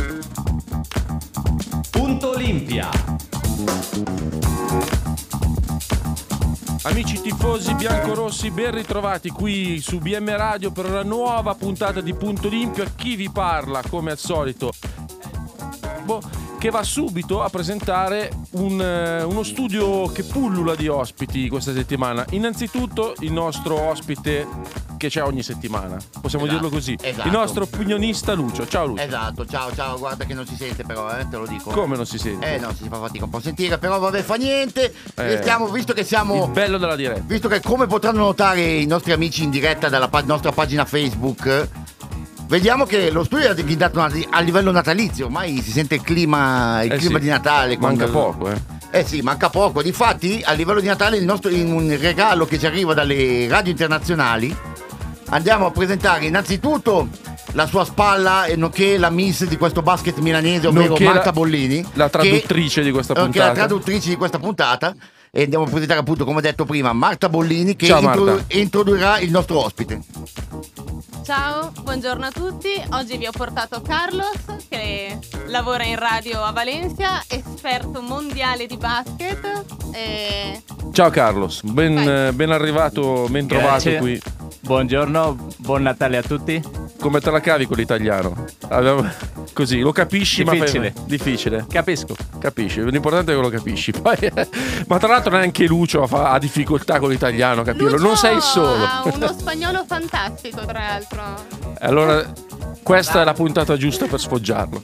Punto Olimpia. Amici tifosi biancorossi, ben ritrovati qui su BM Radio per una nuova puntata di Punto Olimpia. Chi vi parla, come al solito, che va subito a presentare uno studio che pullula di ospiti questa settimana. Innanzitutto il nostro ospite che c'è ogni settimana, possiamo dirlo così, il nostro opinionista Lucio. Ciao Lucio. Esatto, ciao, guarda che non si sente però, te lo dico. Come non si sente? No, si fa fatica un po' a sentire, però vabbè, fa niente. Stiamo, visto che siamo... Il bello della diretta. Visto che, come potranno notare i nostri amici in diretta dalla nostra pagina Facebook, vediamo che lo studio è diventato a livello natalizio, ormai si sente il clima di Natale. Manca poco, sì, manca poco. Difatti, a livello di Natale, un regalo che ci arriva dalle radio internazionali, andiamo a presentare innanzitutto la sua spalla e nonché la miss di questo basket milanese, ovvero Marta Bollini, la traduttrice di questa puntata. Che è la traduttrice di questa puntata. E andiamo a presentare, appunto, come detto prima, Marta Bollini, che introdurrà il nostro ospite. Ciao, buongiorno a tutti. Oggi vi ho portato Carlos, che lavora in radio a Valencia, esperto mondiale di basket. Ciao Carlos, ben arrivato, ben trovato qui. Buongiorno, buon Natale a tutti. Come te la cavi con l'italiano? Così, lo capisci, difficile. Ma difficile. Capisci, l'importante è che lo capisci. Poi, ma tra l'altro neanche Lucio ha difficoltà con l'italiano a capirlo. Lucio non sei solo. Ha uno spagnolo fantastico, tra l'altro. Allora, questa è la puntata giusta per sfoggiarlo.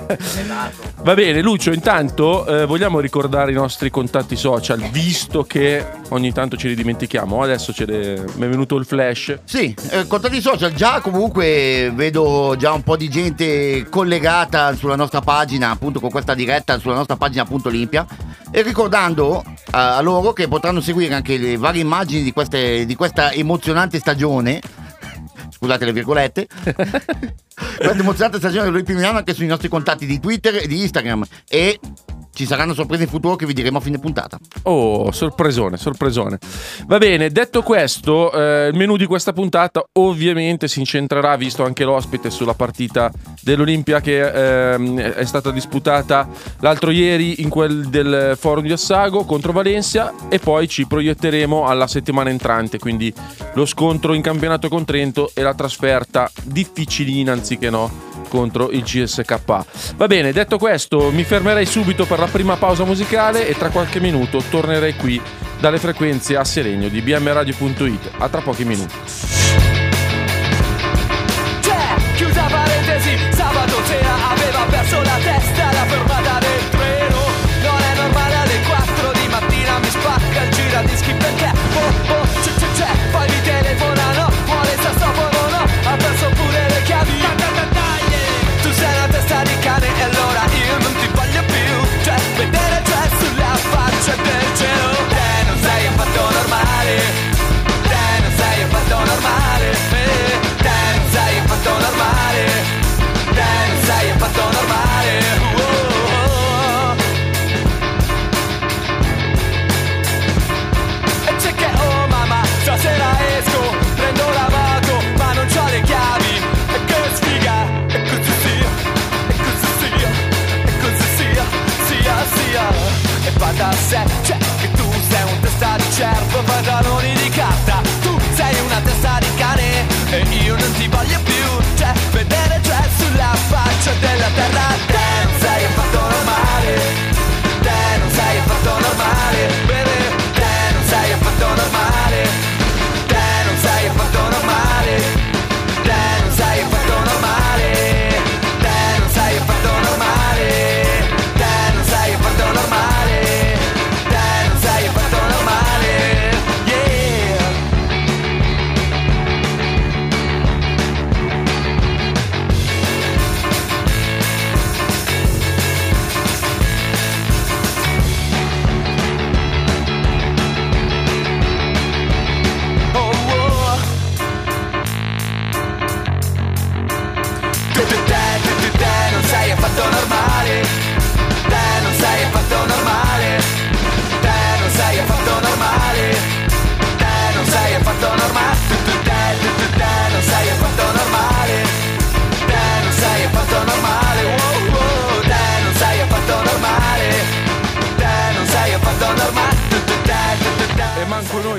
Va bene, Lucio, intanto vogliamo ricordare i nostri contatti social, visto che ogni tanto ce li dimentichiamo. Adesso mi è venuto il flash. Sì, contatti social. Già comunque vedo già un po' di gente collegata sulla nostra pagina, appunto, con questa diretta sulla nostra pagina Punto Olimpia, e ricordando a loro che potranno seguire anche le varie immagini di questa emozionante stagione. Scusate le virgolette. Questa emozionante stagione dell'Olimpia Milano anche sui nostri contatti di Twitter e di Instagram, e ci saranno sorprese in futuro che vi diremo a fine puntata. Oh, sorpresone. Va bene, detto questo, il menù di questa puntata ovviamente si incentrerà, visto anche l'ospite, sulla partita dell'Olimpia che è stata disputata l'altro ieri in quel del Forum di Assago contro Valencia, e poi ci proietteremo alla settimana entrante, quindi lo scontro in campionato con Trento e la trasferta difficilina, anziché no, contro il CSK. Va bene, detto questo, mi fermerei subito per la prima pausa musicale e tra qualche minuto tornerei qui dalle frequenze a Seregno di bmradio.it. A tra pochi minuti. Chiusa parentesi, sabato sera aveva perso la testa alla fermata del treno. Non è normale, alle 4 di mattina mi spacca il giradischi perché c'è, poi mi telefonano, vuole il sassofono, no, ha perso pure le chiavi. Tu sei una testa di cane e allora io non ti voglio più, cioè vedere c'è sulla faccia del cielo. Te non sei affatto normale, te non sei affatto normale.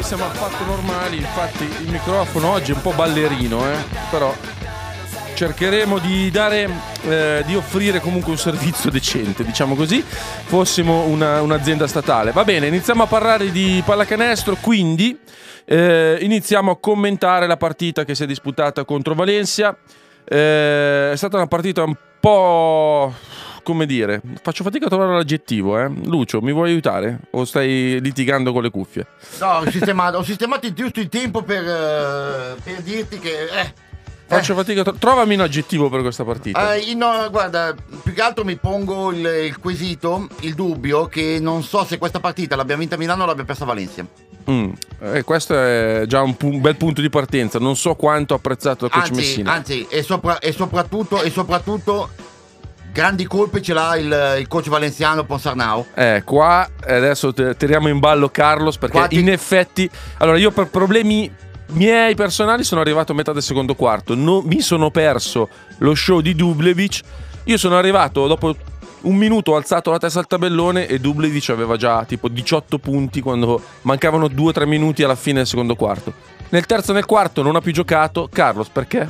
siamo affatto normali. Infatti il microfono oggi è un po' ballerino, però cercheremo di di offrire comunque un servizio decente, diciamo così, fossimo un'azienda statale. Va bene, iniziamo a parlare di pallacanestro, quindi iniziamo a commentare la partita che si è disputata contro Valencia. È stata una partita un po', come dire, faccio fatica a trovare l'aggettivo. Lucio, mi vuoi aiutare? O stai litigando con le cuffie? No, ho sistemato giusto il tempo per dirti che faccio fatica trovami un aggettivo per questa partita. No, guarda, più che altro mi pongo il quesito, il dubbio che non so se questa partita l'abbia vinta Milano o l'abbia persa Valencia. Questo è già un bel punto di partenza. Non so quanto apprezzato da coach Messina. Anzi, e soprattutto grandi colpe ce l'ha il coach valenziano Ponsarnau. Qua adesso tiriamo in ballo Carlos, perché in effetti, allora, io per problemi miei personali sono arrivato a metà del secondo quarto, mi sono perso lo show di Dublevic. Io sono arrivato dopo un minuto, ho alzato la testa al tabellone e Dublevic aveva già tipo 18 punti quando mancavano 2-3 minuti alla fine del secondo quarto. Nel terzo e nel quarto non ha più giocato. Carlos, perché?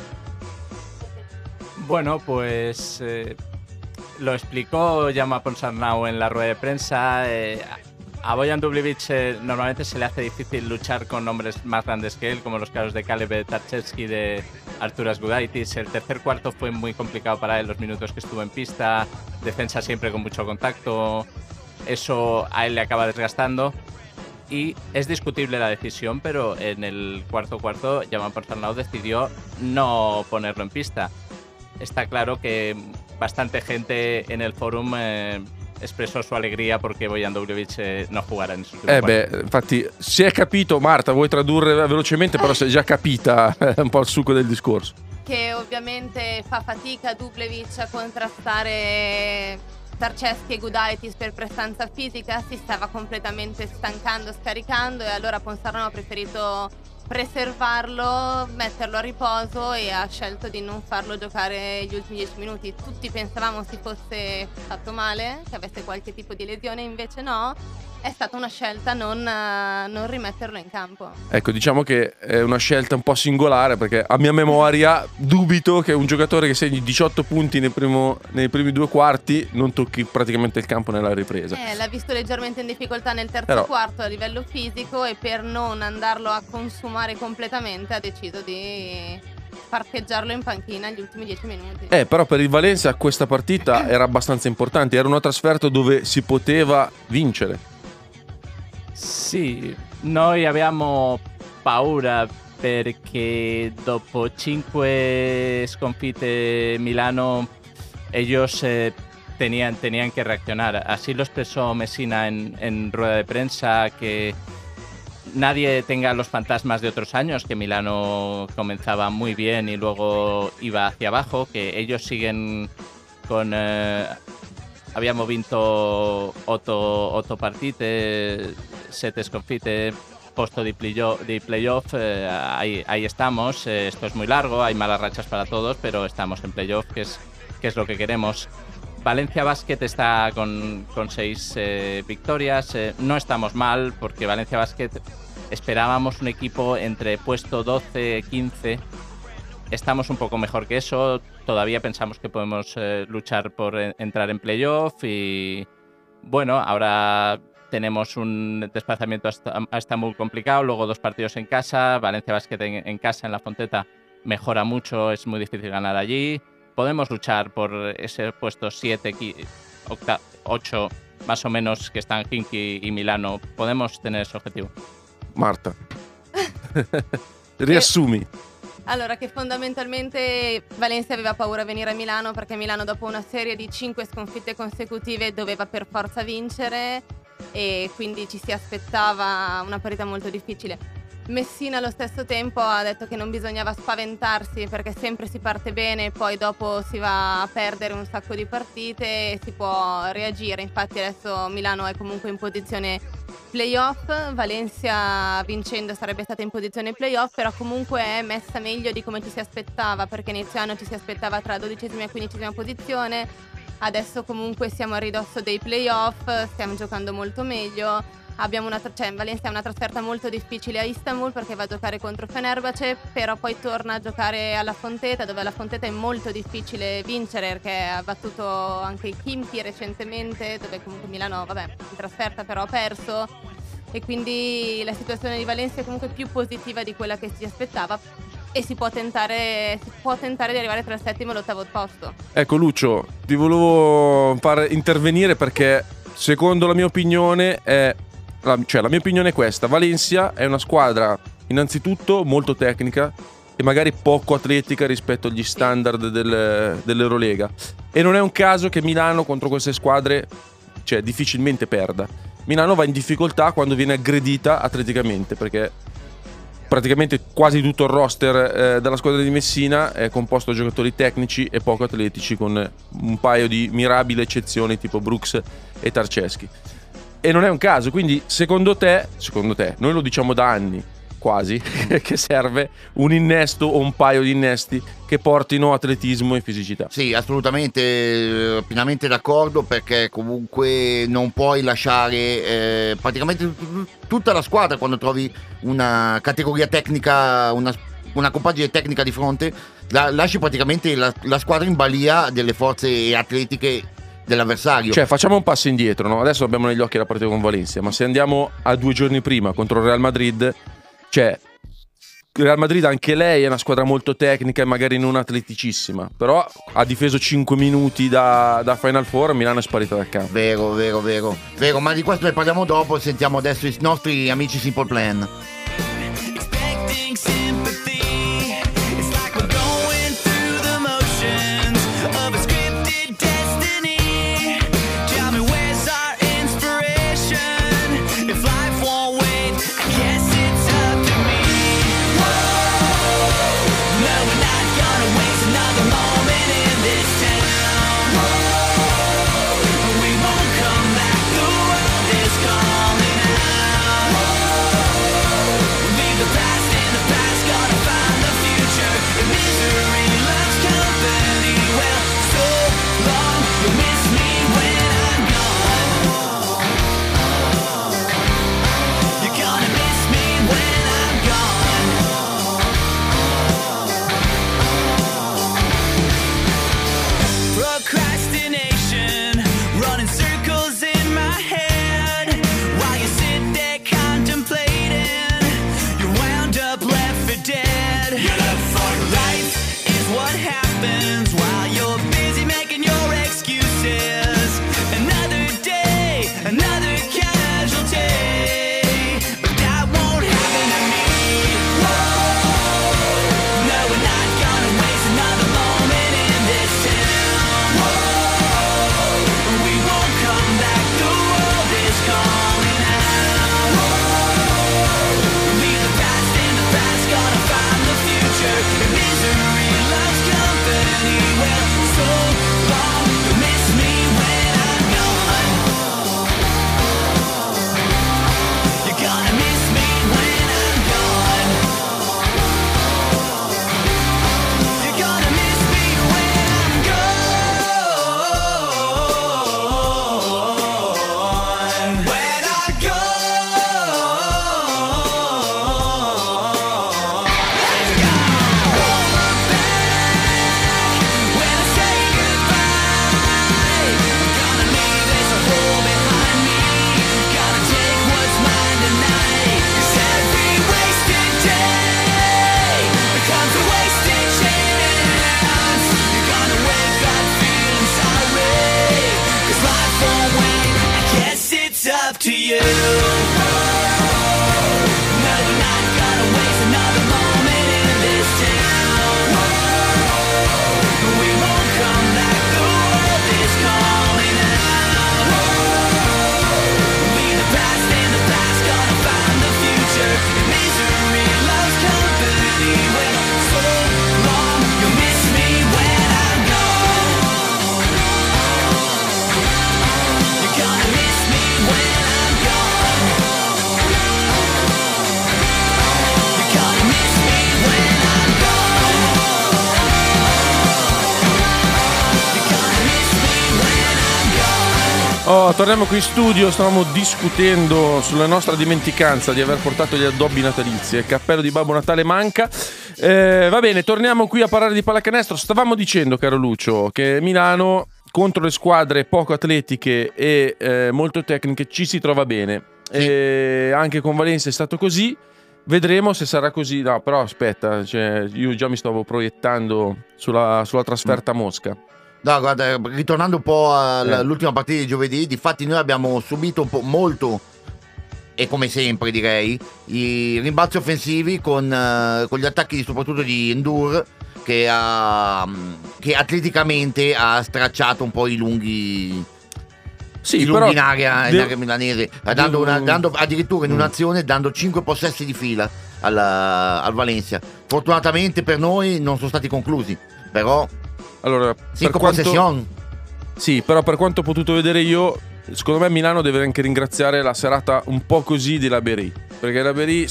Bueno, pues lo explicó Jaume Ponsarnau en la rueda de prensa. A Bojan Dublevic normalmente se le hace difícil luchar con hombres más grandes que él, como los casos de Caleb Tarczewski, de Arturas Gudaitis. El tercer cuarto fue muy complicado para él, los minutos que estuvo en pista, defensa siempre con mucho contacto, eso a él le acaba desgastando. Y es discutible la decisión, pero en el cuarto Jaume Ponsarnau decidió no ponerlo en pista. Está claro que bastante gente en el forum espressò sua allegria perché Bojan Dublevic non jugara in infatti si è capito. Marta, vuoi tradurre velocemente? Però si è già capita un po' il succo del discorso. Che ovviamente fa fatica Dublevic a contrastare Tarczewski e Gudaitis per prestanza fisica, si stava completamente stancando, scaricando, e allora Ponsarnau ha preferito preservarlo, metterlo a riposo e ha scelto di non farlo giocare gli ultimi 10 minuti. Tutti pensavamo si fosse fatto male, che avesse qualche tipo di lesione, invece no, è stata una scelta non rimetterlo in campo. Ecco, diciamo che è una scelta un po' singolare, perché a mia memoria dubito che un giocatore che segni 18 punti nei primi due quarti non tocchi praticamente il campo nella ripresa. L'ha visto leggermente in difficoltà nel terzo quarto a livello fisico, e per non andarlo a consumare completamente ha deciso di parcheggiarlo in panchina gli ultimi 10 minuti. Però per il Valencia questa partita era abbastanza importante, era una trasferta dove si poteva vincere. Sì, noi abbiamo paura perché dopo 5 sconfitte Milano ellos tenían que reaccionar. Así lo expresó Messina en rueda de prensa, que nadie tenga los fantasmas de otros años, que Milano comenzaba muy bien y luego iba hacia abajo, que ellos siguen con... abbiamo vinto 8 partite, 7 sconfitte, posto di playoff, ahí estamos. Esto es muy largo, hay malas rachas para todos, pero estamos en playoff, que es lo que queremos. Valencia Basket está con 6 victorias. No estamos mal, porque Valencia Basket esperábamos un equipo entre puesto 12-15. Estamos un poco mejor que eso. Todavía pensamos que podemos luchar por entrar en playoff. Y bueno, ahora tenemos un desplazamiento a Estambul complicado, luego 2 partidos en casa. Valencia Basket en casa, en la Fonteta, mejora mucho, es muy difícil ganar allí. Podemos luchar por ese puesto 7, 8, más o menos, que están Khimki y Milano. Podemos tener ese objetivo. Marta, riassumi. Allora, che fondamentalmente Valencia aveva paura a venire a Milano, perché Milano dopo una serie di 5 sconfitte consecutive doveva per forza vincere, e quindi ci si aspettava una partita molto difficile. Messina allo stesso tempo ha detto che non bisognava spaventarsi, perché sempre si parte bene, poi dopo si va a perdere un sacco di partite e si può reagire. Infatti adesso Milano è comunque in posizione playoff, Valencia vincendo sarebbe stata in posizione playoff, però comunque è messa meglio di come ci si aspettava, perché inizio anno ci si aspettava tra 12ª e 15ª posizione. Adesso comunque siamo a ridosso dei playoff, stiamo giocando molto meglio. Abbiamo Valencia ha una trasferta molto difficile a Istanbul perché va a giocare contro Fenerbahce, però poi torna a giocare alla Fonteta, dove alla Fonteta è molto difficile vincere perché ha battuto anche il Khimki recentemente, dove comunque Milano, vabbè, in trasferta però ha perso, e quindi la situazione di Valencia è comunque più positiva di quella che si aspettava e si può tentare di arrivare tra il settimo e l'ottavo posto. Ecco Lucio, ti volevo far intervenire perché secondo la mia opinione la mia opinione è questa: Valencia è una squadra innanzitutto molto tecnica e magari poco atletica rispetto agli standard dell'Eurolega, e non è un caso che Milano contro queste squadre difficilmente perda. Milano va in difficoltà quando viene aggredita atleticamente, perché praticamente quasi tutto il roster della squadra di Messina è composto da giocatori tecnici e poco atletici, con un paio di mirabili eccezioni tipo Brooks e Tarceschi. E non è un caso, quindi secondo te, noi lo diciamo da anni quasi, che serve un innesto o un paio di innesti che portino atletismo e fisicità. Sì, assolutamente, pienamente d'accordo, perché comunque non puoi lasciare praticamente tutta la squadra, quando trovi una categoria tecnica, una compagine tecnica di fronte, lasci praticamente la squadra in balia delle forze atletiche dell'avversario. Cioè, facciamo un passo indietro, no? Adesso abbiamo negli occhi la partita con Valencia, ma se andiamo a 2 giorni prima contro il Real Madrid, Real Madrid anche lei è una squadra molto tecnica e magari non atleticissima, però ha difeso 5 minuti da Final Four, Milano è sparita dal campo. Vero, ma di questo ne parliamo dopo. Sentiamo adesso i nostri amici Simple Plan. Torniamo qui in studio, stavamo discutendo sulla nostra dimenticanza di aver portato gli addobbi natalizi. Il cappello di Babbo Natale manca. Va bene, torniamo qui a parlare di pallacanestro. Stavamo dicendo, caro Lucio, che Milano contro le squadre poco atletiche e molto tecniche ci si trova bene. Anche con Valencia è stato così. Vedremo se sarà così. No, però aspetta, io già mi stavo proiettando sulla trasferta a Mosca. No, guarda, ritornando un po' all'ultima partita di giovedì, difatti noi abbiamo subito un po' molto, e come sempre direi, i rimbalzi offensivi con gli attacchi soprattutto di Endur, che atleticamente ha stracciato un po' i lunghi in area milanese, dando addirittura in un'azione dando 5 possessi di fila al Valencia. Fortunatamente per noi non sono stati conclusi, però allora, 5 possessioni. Sì, però per quanto ho potuto vedere io, secondo me Milano deve anche ringraziare la serata un po' così di Laberi, perché Laberi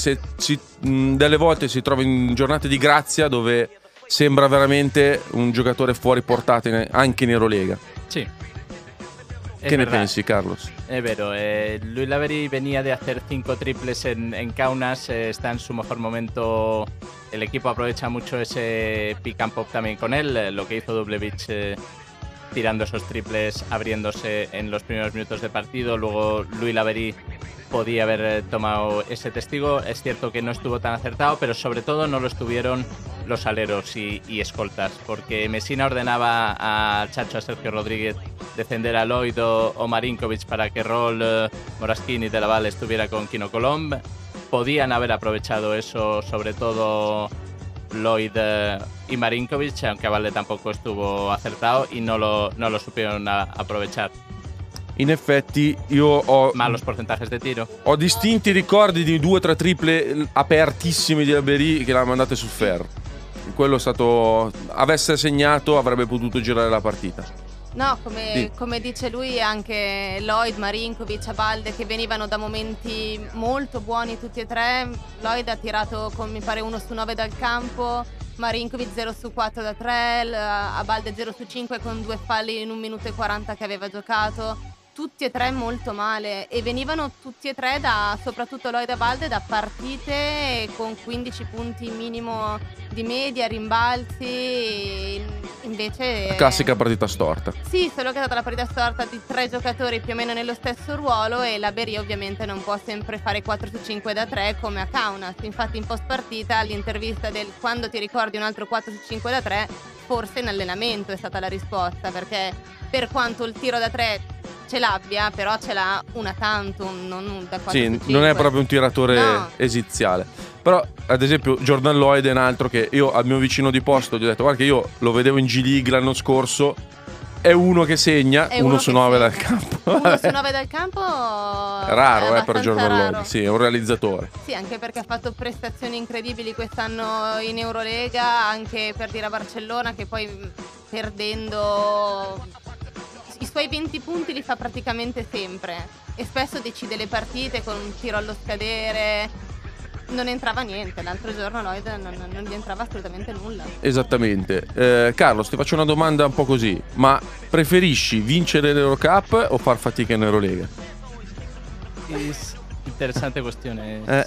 delle volte si trova in giornate di grazia dove sembra veramente un giocatore fuori portata anche in Eurolega. Sí. ¿Qué me pensi, Carlos? Es vero, Luis Laveri venía de hacer 5 triples en Kaunas, está en su mejor momento, el equipo aprovecha mucho ese pick and pop también con él, lo que hizo Dubljevic tirando esos triples, abriéndose en los primeros minutos de partido, luego Luis Laveri podía haber tomado ese testigo, es cierto que no estuvo tan acertado, pero sobre todo no lo estuvieron los aleros y escoltas, porque Messina ordenaba a Chacho, a Sergio Rodríguez, defender a Lloyd o Marinkovic para que Roll, Moraschini y De La Valle estuviera con Kino Colomb. Podían haber aprovechado eso, sobre todo Lloyd y Marinkovic, aunque Valle tampoco estuvo acertado y no lo supieron aprovechar. In effetti io ho malos porcentajes de tiro. Ho distinti ricordi di 2 o 3 triple apertissimi di Laberi che l'ha mandate sul ferro. Quello è stato, avesse segnato avrebbe potuto girare la partita. No, come dice lui, anche Lloyd, Marinkovic, Abalde, che venivano da momenti molto buoni tutti e tre. Lloyd ha tirato con, mi pare, 1 su 9 dal campo, Marinkovic 0 su 4 da 3, Abalde 0 su 5 con 2 falli in 1 minuto e 40 che aveva giocato. Tutti e tre molto male, e venivano tutti e tre soprattutto Lloyd e Abalde, da partite con 15 punti minimo di media, rimbalzi. Invece la classica partita storta. Sì, solo che è stata la partita storta di 3 giocatori più o meno nello stesso ruolo, e Laberi ovviamente non può sempre fare 4 su 5 da 3 come a Kaunas. Infatti in post partita, all'intervista del quando ti ricordi un altro 4 su 5 da 3, forse in allenamento è stata la risposta, perché per quanto il tiro da 3 ce l'abbia, però ce l'ha una tantum, non da 4 sì, su 5. Non è proprio un tiratore no. esiziale. Però ad esempio Jordan Lloyd è un altro che io al mio vicino di posto gli ho detto: guarda che io lo vedevo in G League l'anno scorso, è uno che segna, 1 su 9 dal campo. 1 su 9 dal campo è raro per Jordan raro. Lloyd. Sì, è un realizzatore. Sì, anche perché ha fatto prestazioni incredibili quest'anno in Eurolega, anche per dire a Barcellona, che poi perdendo i suoi 20 punti li fa praticamente sempre, e spesso decide le partite con un tiro allo scadere. Non entrava niente, l'altro giorno Lloyd non gli entrava assolutamente nulla. Esattamente. Carlos, ti faccio una domanda un po' così: ma preferisci vincere l'Eurocup o far fatica in Eurolega? Interessante questione.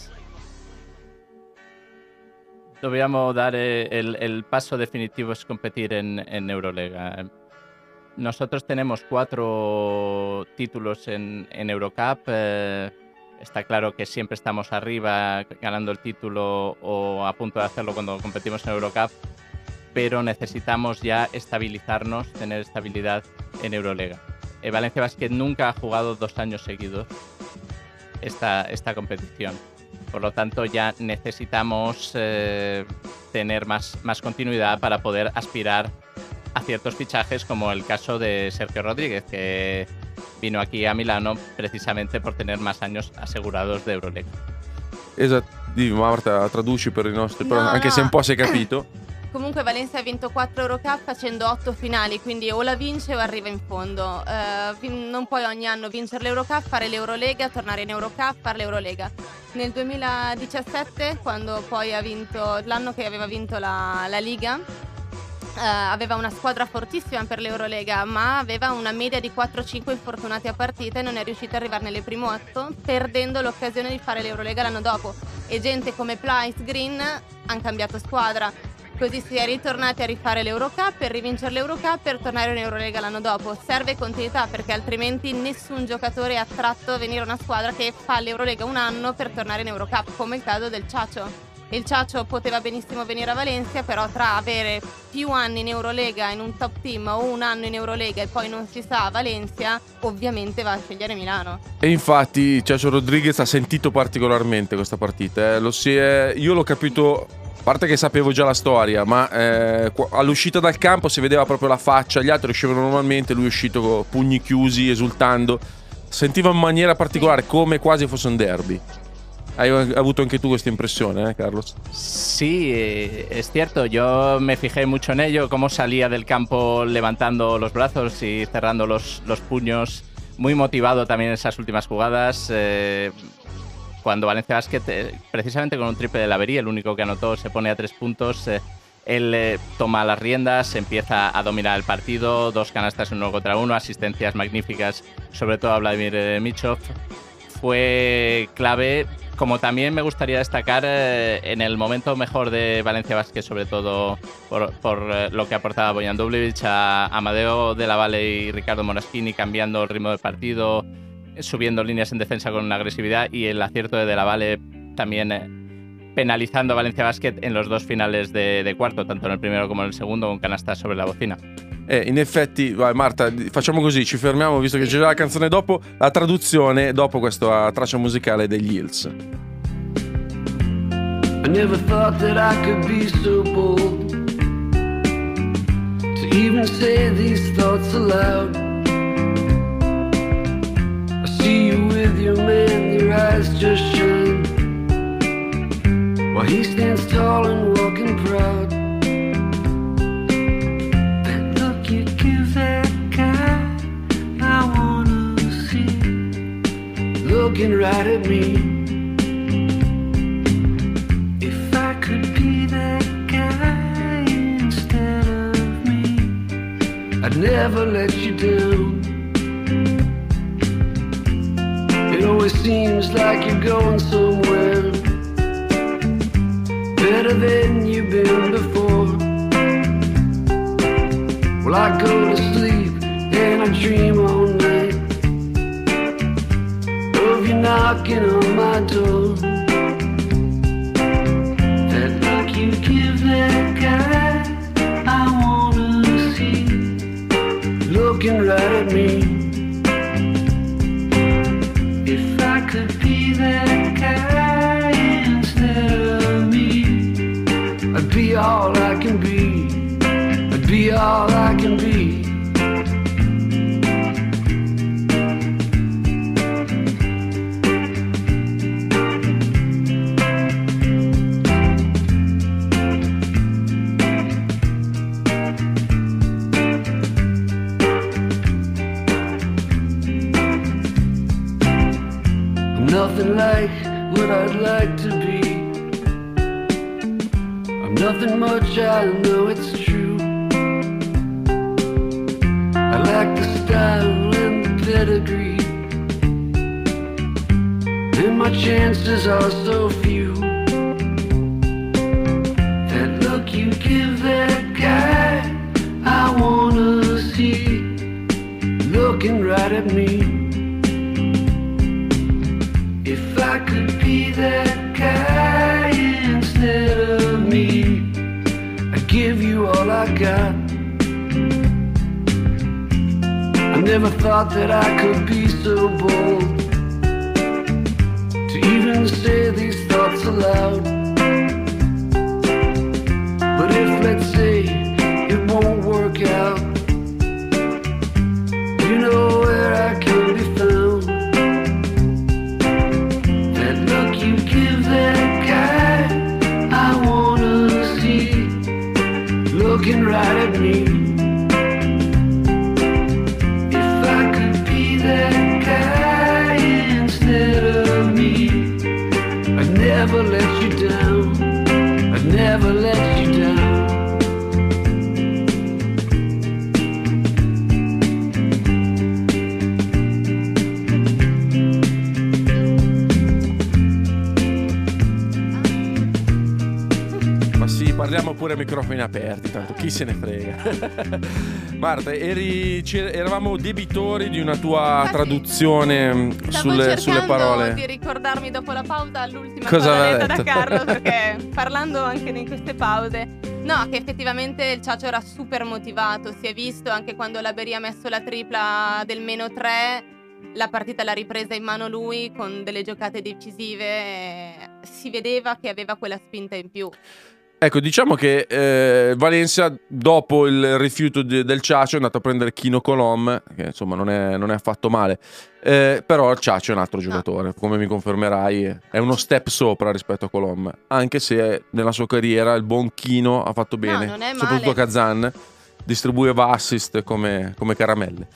Dobbiamo dare el paso definitivo, es competir en Eurolega. Nosotros tenemos 4 títulos en Eurocup. Está claro que siempre estamos arriba ganando el título o a punto de hacerlo cuando competimos en Eurocup, pero necesitamos ya estabilizarnos, tener estabilidad en Eurolega. Valencia Basket nunca ha jugado 2 años seguidos esta competición. Por lo tanto, ya necesitamos tener más continuidad para poder aspirar a ciertos fichajes, como el caso de Sergio Rodríguez, que vino aquí a Milano precisamente por tener más años asegurados de Eurolega. Esatto, Marta, traduci per i nostri, però anche se un po' si è capito. Comunque Valencia ha vinto 4 Eurocup facendo 8 finali, quindi o la vince o arriva in fondo. Non puoi ogni anno vincere l'Eurocup, fare l'Eurolega, tornare in Eurocup, fare l'Eurolega. Nel 2017, quando poi ha vinto, l'anno che aveva vinto la Liga, aveva una squadra fortissima per l'Eurolega, ma aveva una media di 4-5 infortunati a partita e non è riuscita ad arrivare nelle prime 8, perdendo l'occasione di fare l'Eurolega l'anno dopo. E gente come Plyce, Green hanno cambiato squadra. Così si è ritornati a rifare l'Eurocup, per rivincere l'Eurocup, per tornare in Eurolega l'anno dopo. Serve continuità, perché altrimenti nessun giocatore è attratto a venire a una squadra che fa l'Eurolega un anno per tornare in Eurocup, come il caso del Ciacio. Il Ciacio poteva benissimo venire a Valencia, però tra avere più anni in Eurolega in un top team o un anno in Eurolega e poi non si sa a Valencia, ovviamente va a scegliere Milano. E infatti Ciacio Rodriguez ha sentito particolarmente questa partita. Io l'ho capito, a parte che sapevo già la storia, ma all'uscita dal campo si vedeva proprio la faccia, gli altri uscivano normalmente, lui è uscito con pugni chiusi, esultando. Sentiva in maniera particolare, come quasi fosse un derby. Hai avuto anche tú esta impresión, Carlos? Sí, es cierto. Yo me fijé mucho en ello, cómo salía del campo levantando los brazos y cerrando los puños. Muy motivado también en esas últimas jugadas. Cuando Valencia Basket, precisamente con un triple de Laverí, el único que anotó, se pone a 3 puntos. Él toma las riendas, empieza a dominar el partido. 2 canastas en 1 contra 1, asistencias magníficas, sobre todo a Vladimir Michov. Fue clave. Como también me gustaría destacar en el momento mejor de Valencia Basket, sobre todo por lo que aportaba Bojan Dubljevic, a Amadeo de la Valle y Ricardo Moraschini, cambiando el ritmo del partido, subiendo líneas en defensa con una agresividad, y el acierto de la Valle también penalizando a Valencia Basket en los 2 finales de cuarto, tanto en el primero como en el segundo, con canastas sobre la bocina. In effetti, vai Marta, facciamo così, ci fermiamo visto che c'è già la canzone dopo, la traduzione dopo questa traccia musicale degli Hills. I never thought that I could be so bold to even say these thoughts aloud. I see you with your man, your eyes just shine, while he stands tall and walking proud. Looking right at me. If I could be that guy instead of me, I'd never let you down. It always seems like you're going somewhere better than you've been before. Well, I go to sleep and I dream all night of you knocking on my door. That look you give that guy I wanna see, looking right at me. If I could be that guy instead of me, I'd be all I can be. I'd be all I can be. Nothing like what I'd like to be. I'm nothing much, I know it's true. I lack the style and the pedigree, and my chances are so few. That look you give that guy I wanna see, looking right at me. If I could be that guy instead of me, I'd give you all I got. I never thought that I could be so bold to even say these thoughts aloud. But if, let's say, it won't work out, you know where I can be found. Looking right at me. If I could be that guy instead of me, I'd never let you down. I'd never let you down. lasciamo pure microfoni aperti, tanto chi se ne frega. Marta, eravamo debitori di una tua Infatti, traduzione sulle parole. di ricordarmi dopo la pausa l'ultima Cosa cosa aveva detta da detto? Carlo, perché parlando anche in queste pause, no, che effettivamente il Ciacio era super motivato, si è visto anche quando la Berì ha messo la tripla del -3, la partita l'ha ripresa in mano lui con delle giocate decisive, si vedeva che aveva quella spinta in più. Ecco, diciamo che Valencia, dopo il rifiuto del Ciacio, è andato a prendere Kino Colom, che insomma non è affatto male. Però il Ciacio è un altro giocatore, come mi confermerai, è uno step sopra rispetto a Colom. Anche se nella sua carriera il buon Kino ha fatto bene, non è soprattutto a male. Kazan, distribuiva assist come caramelle.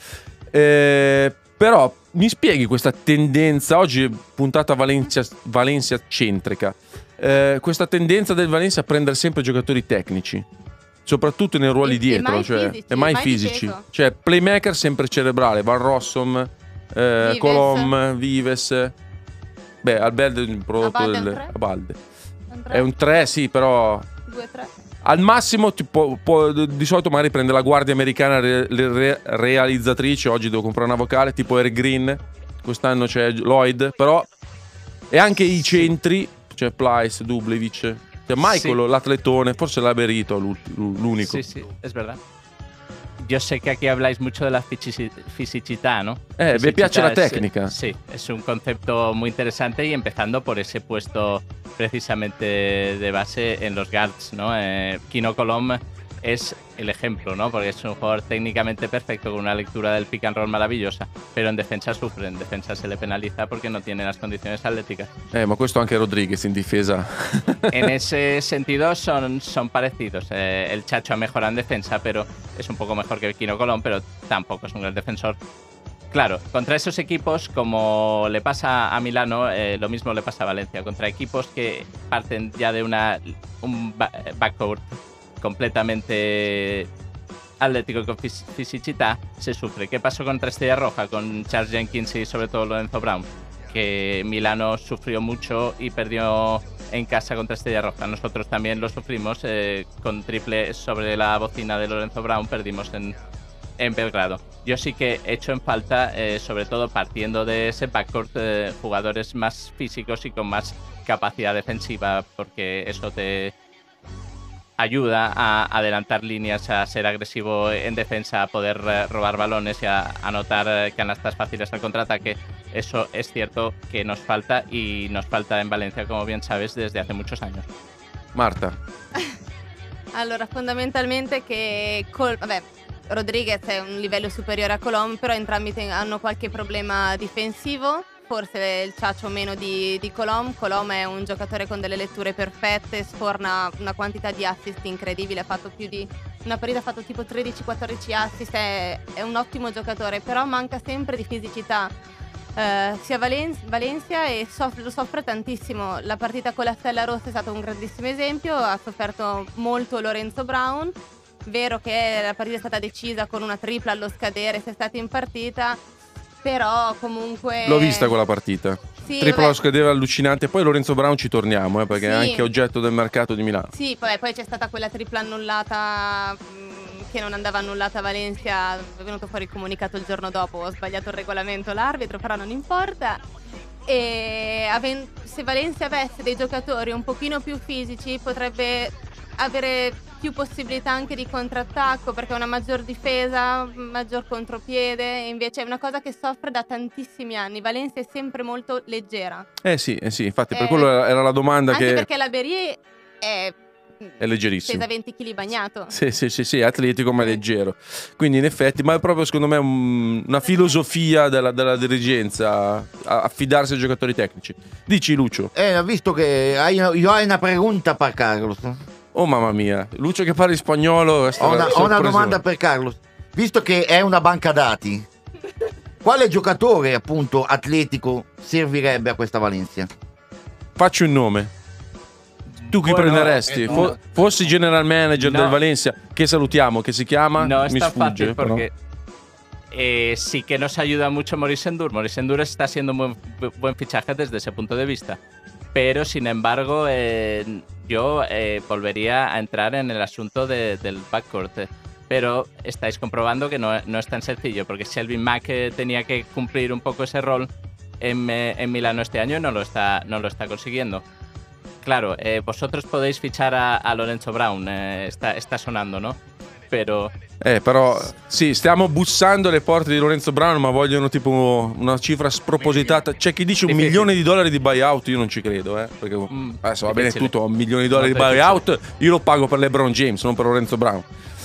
Però mi spieghi questa tendenza, oggi puntata Valencia centrica, questa tendenza del Valencia a prendere sempre giocatori tecnici, soprattutto nei ruoli E dietro, mai cioè, fisici, e mai mai fisici. difeso. Cioè playmaker sempre cerebrale, Van Rossum, Vives. Colom, Vives. Beh, Albelde è un prodotto Abalde è un del tre? Abalde. È un 3, sì, però 2-3. al massimo di solito magari prende la guardia americana realizzatrice. Oggi devo comprare una vocale tipo Eric Green, quest'anno c'è Lloyd, però e anche i centri, c'è Plyce, Dublevic, c'è Michael, Sì. l'atletone, forse l'ha Berito l'unico. Sí, sí, es verdad. Yo sé que aquí habláis mucho de la fisicidad, ¿no? Me piace la Fisicidad técnica. Sí, es un concepto muy interesante y empezando por ese puesto precisamente de base en los guards, ¿no? Kino Colom es el ejemplo, ¿no? Porque es un jugador técnicamente perfecto con una lectura del pick and roll maravillosa, pero en defensa sufre, en defensa se le penaliza porque no tiene las condiciones atléticas. Ma questo anche Rodríguez in difesa. En ese sentido son parecidos. El Chacho ha mejorado en defensa, pero es un poco mejor que Kino Colom, pero tampoco es un gran defensor. Claro, contra esos equipos, como le pasa a Milano, lo mismo le pasa a Valencia. Contra equipos que parten ya de un backcourt completamente atlético y con fisicità, se sufre. ¿Qué pasó contra Estrella Roja, con Charles Jenkins y sobre todo Lorenzo Brown? Que Milano sufrió mucho y perdió en casa contra Estrella Roja. Nosotros también lo sufrimos con triple sobre la bocina de Lorenzo Brown, perdimos en Belgrado. Yo sí que echo en falta, sobre todo partiendo de ese backcourt, jugadores más físicos y con más capacidad defensiva, porque eso te ayuda a adelantar líneas, a ser agresivo en defensa, a poder robar balones y a anotar canastas fáciles al contraataque. Eso es cierto que nos falta, y nos falta en Valencia, como bien sabes, desde hace muchos años. Marta. Allora, fondamentalmente che vabbè, Rodríguez è un livello superiore a Colom, però entrambi hanno qualche problema difensivo. Forse il Ciacio meno di Colom. Colom è un giocatore con delle letture perfette, sforna una quantità di assist incredibile, ha fatto più di una partita, ha fatto tipo 13-14 assist, è un ottimo giocatore, però manca sempre di fisicità. Sia Valencia e lo soffre tantissimo. La partita con la Stella Rossa è stato un grandissimo esempio, ha sofferto molto Lorenzo Brown. Vero che la partita è stata decisa con una tripla allo scadere, se è stata in partita, però comunque L'ho vista quella partita. Sì, Tripla vabbè. lo scadere allucinante. Poi Lorenzo Brown ci torniamo, perché è Sì. anche oggetto del mercato di Milano. Sì, vabbè, poi c'è stata quella tripla annullata che non andava annullata a Valencia, è venuto fuori il comunicato il giorno dopo, ho sbagliato il regolamento l'arbitro, però non importa. E se Valencia avesse dei giocatori un pochino più fisici potrebbe avere più possibilità anche di contrattacco, perché ha una maggior difesa, maggior contropiede, e invece è una cosa che soffre da tantissimi anni. Valencia è sempre molto leggera. Sì, infatti per quello era la domanda, Anche che perché la Berry è leggerissimo. pesa 20 kg bagnato. Sì, è atletico ma leggero. Quindi in effetti, ma è proprio secondo me una filosofia della dirigenza, affidarsi ai giocatori tecnici. Dici, Lucio. Visto che io ho una pregunta per Carlos. Oh mamma mia, Lucio che parla in spagnolo. Ho una domanda per Carlos. Visto che è una banca dati, quale giocatore appunto atletico servirebbe a questa Valencia? Faccio un nome. Tu chi Bueno, prenderesti? Fossi general manager No. del Valencia, che salutiamo, che si chiama? No es Mi tan sfugge, fácil però. porque sí que nos ayuda mucho Maurice Endur. Maurice Endur está siendo un buen fichaje desde ese punto de vista. Pero, sin embargo, yo volvería a entrar en el asunto del backcourt. Pero estáis comprobando que no es tan sencillo, porque Shelvin Mack tenía que cumplir un poco ese rol en Milano este año y no lo está consiguiendo. Claro, vosotros podéis fichar a Lorenzo Brown, está sonando, no? Però sì, stiamo bussando alle porte di Lorenzo Brown, ma vogliono tipo una cifra spropositata. C'è chi dice $1 milione di buyout, io non ci credo, perché adesso va bene tutto, $1 milione di buyout, io lo pago per LeBron James, non per Lorenzo Brown.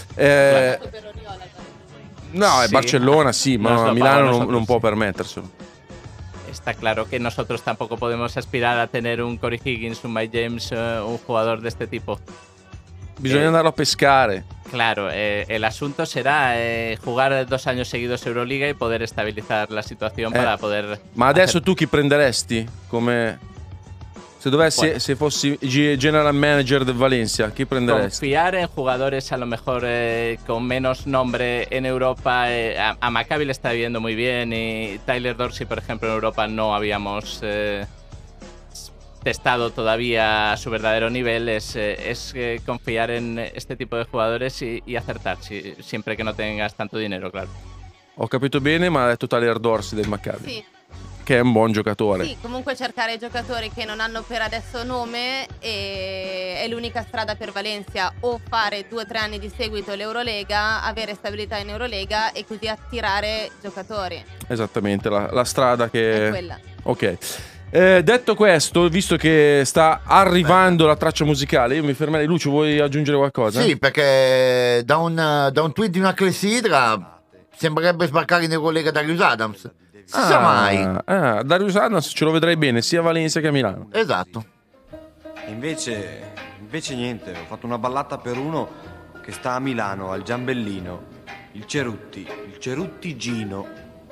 No, è Barcellona sì, ma Milano non può permetterselo. Está claro que nosotros tampoco podemos aspirar a tener un Corey Higgins, un Mike James, un jugador de este tipo. Bisogna andarlo a pescare. Claro, el asunto será jugar 2 años seguidos Euroliga y poder estabilizar la situación para poder... Ma adesso tu chi prenderesti? Come... Se fossi general manager del Valencia, chi prenderesti? Confiar en jugadores a lo mejor con menos nombre en Europa. A Maccabi le está viendo muy bien y Tyler Dorsey, por ejemplo, en Europa no habíamos testado todavía su verdadero nivel. Es confiar en este tipo de jugadores y acertar, siempre que no tengas tanto dinero, claro. Ho capito bene, ma ha detto Tyler Dorsey del Maccabi. Sì. Che è un buon giocatore. Sì, comunque cercare giocatori che non hanno per adesso nome è l'unica strada per Valencia, o fare 2 o 3 anni di seguito l'Eurolega, avere stabilità in Eurolega e così attirare giocatori. Esattamente, la strada che... È quella. Ok. Detto questo, visto che sta arrivando la traccia musicale, io mi fermerei. Lucio, vuoi aggiungere qualcosa? Sì, perché da un tweet di una clessidra sembrerebbe sbarcare in Eurolega Darius Adams. Si sa mai. Darius Adams ce lo vedrei bene sia a Valencia che a Milano. Esatto. Invece niente, ho fatto una ballata per uno che sta a Milano, al Giambellino, il Cerutti Gino.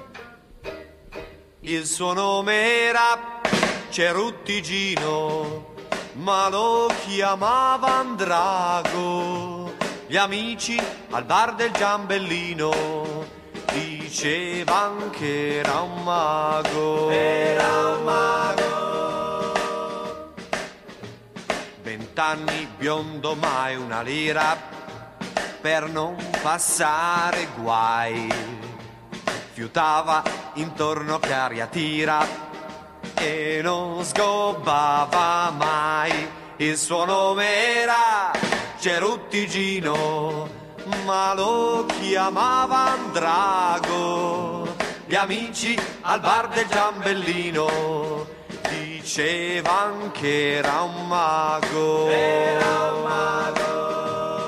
Il suo nome era Cerutti Gino, ma lo chiamavano Drago. Gli amici al bar del Giambellino dicevan che era un mago. Era un mago. 20 anni, biondo, mai una lira per non passare guai. Fiutava intorno che aria tira e non sgobbava mai. Il suo nome era Cerutti Gino, ma lo chiamavan Drago. Gli amici al bar del Giambellino dicevan che era un mago. Era un mago.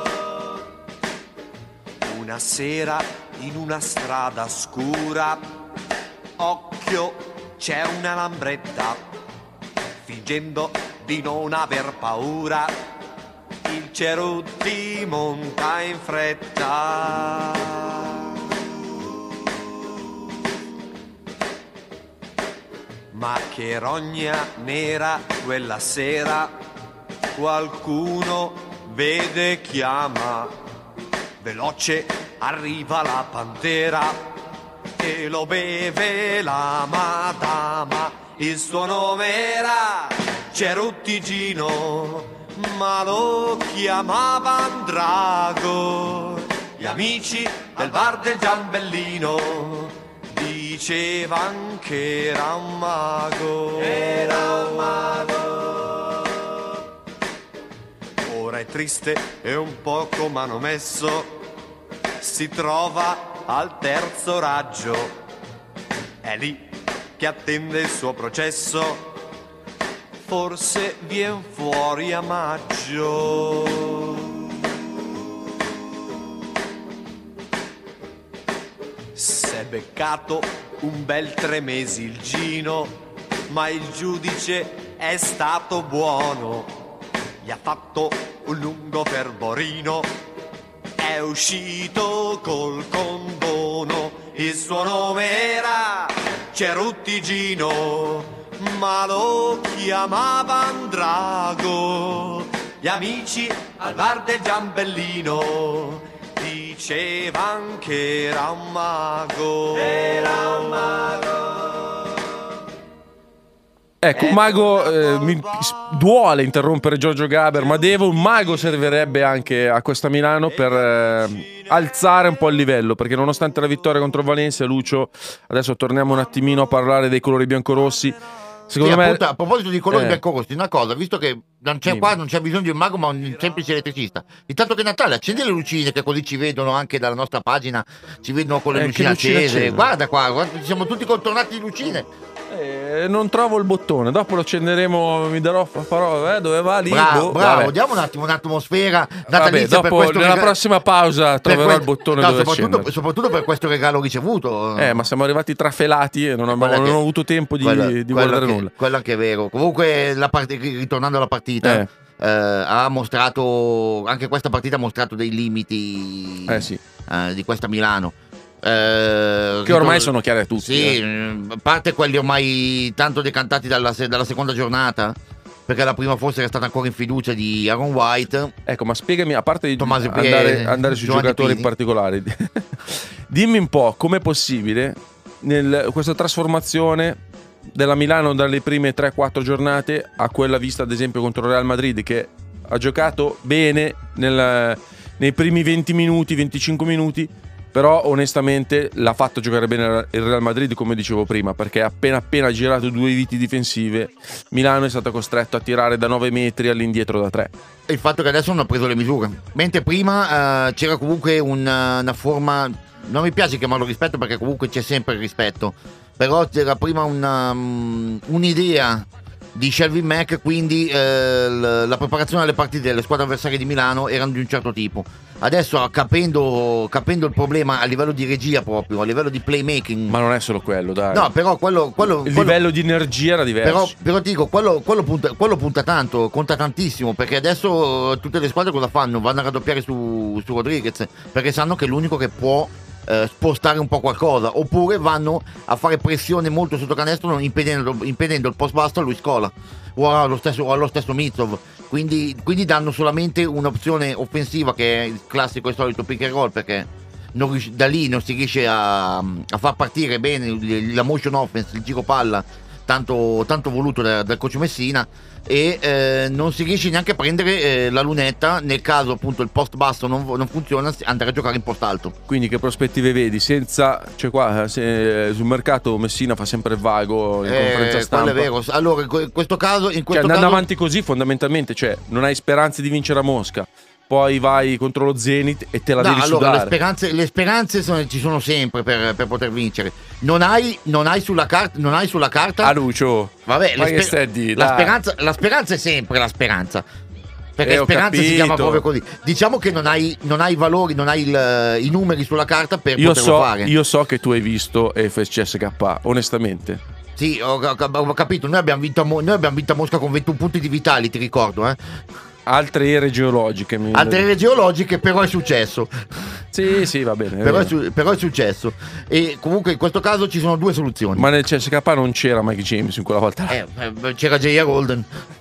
Una sera in una strada scura, occhio, c'è una lambretta. Fingendo di non aver paura, il Cerutti monta in fretta. Ma che rogna nera quella sera, qualcuno vede, chiama. Veloce arriva la pantera e lo beve la madama. Il suo nome era Cerutti Gino, ma lo chiamavan Drago. Gli amici del bar del Giambellino dicevan che era un mago. Era un mago. Ora è triste e un poco manomesso, si trova al terzo raggio. È lì che attende il suo processo, forse vien fuori a maggio. S'è beccato un bel 3 mesi il Gino, ma il giudice è stato buono. Gli ha fatto un lungo fervorino, è uscito col condono. Il suo nome era Cerutti Gino, ma lo chiamavan Drago. Gli amici al bar del Giambellino dicevan che era un mago. Era un mago. Ecco, un mago, mi duole interrompere Giorgio Gaber, ma un mago servirebbe anche a questa Milano per alzare un po' il livello, perché nonostante la vittoria contro Valencia, Lucio, adesso torniamo un attimino a parlare dei colori biancorossi. Secondo me, appunto, a proposito di colori biancorossi, una cosa, visto che non c'è qua, non c'è bisogno di un mago, ma un semplice elettricista. Intanto che è Natale, accendi le lucine, che così ci vedono anche dalla nostra pagina, ci vedono con le lucine accese. Guarda qua, siamo tutti contornati di lucine. Non trovo il bottone, dopo lo accenderemo, farò dove va lì. Bravo, diamo un attimo un'atmosfera natalizia. Dopo, per questo nella prossima pausa troverò il bottone dove accendere. Soprattutto per questo regalo ricevuto. Ma siamo arrivati trafelati e non ho avuto tempo di guardare nulla. Quello anche è vero. Comunque, ritornando alla partita, ha mostrato, anche questa partita ha mostrato dei limiti di questa Milano. Che ormai sono chiari a tutti. Sì, a parte quelli ormai tanto decantati dalla seconda giornata, perché la prima forse era stata ancora in fiducia di Aaron White. Ecco, ma spiegami, a parte di Tommaso andare sui giocatori in particolare, dimmi un po' com'è possibile questa trasformazione della Milano dalle prime 3-4 giornate a quella vista ad esempio contro il Real Madrid, che ha giocato bene nei primi 20 minuti, 25 minuti, però onestamente l'ha fatto giocare bene il Real Madrid, come dicevo prima, perché appena girato 2 viti difensive, Milano è stato costretto a tirare da 9 metri all'indietro da 3. E il fatto che adesso non ha preso le misure, mentre prima c'era comunque una forma, non mi piace chiamarlo rispetto perché comunque c'è sempre il rispetto, però c'era prima un'idea di Shelby Mack, quindi la preparazione alle partite delle squadre avversarie di Milano erano di un certo tipo. Adesso capendo il problema a livello di regia, proprio a livello di playmaking, ma non è solo quello, dai. No, però quello livello di energia era diverso. Però ti dico, quello punta tanto, conta tantissimo, perché adesso tutte le squadre cosa fanno? Vanno a raddoppiare su Rodriguez, perché sanno che è l'unico che può spostare un po' qualcosa, oppure vanno a fare pressione molto sotto canestro, impedendo il post basso a Luis Scola o allo stesso Mitsov, quindi danno solamente un'opzione offensiva, che è il classico e solito pick and roll, perché da lì non si riesce a far partire bene la motion offense, il giro palla tanto voluto dal coach Messina, e non si riesce neanche a prendere la lunetta nel caso appunto il post basso non funziona, andare a giocare in post alto. Quindi che prospettive vedi? Sul mercato Messina fa sempre il vago in conferenza stampa. Quello è vero. Allora in questo caso andando avanti così fondamentalmente, cioè non hai speranze di vincere a Mosca, poi vai contro lo Zenit e te la devi sudare. Le speranze ci sono sempre per poter vincere. Non hai sulla carta. A Lucio. Vabbè, la speranza è sempre la speranza. Perché speranza si chiama proprio così. Diciamo che non hai i valori, non hai i numeri sulla carta per poterlo fare. Io so che tu hai visto FSCSK, onestamente. Sì, ho capito. Noi abbiamo vinto a Mosca con 21 punti di Vitali, ti ricordo, Altre ere geologiche. Però è successo. Sì, va bene. Però è successo. E comunque in questo caso ci sono 2 soluzioni. Ma nel CSK non c'era Mike James in quella volta. C'era J.R. Golden.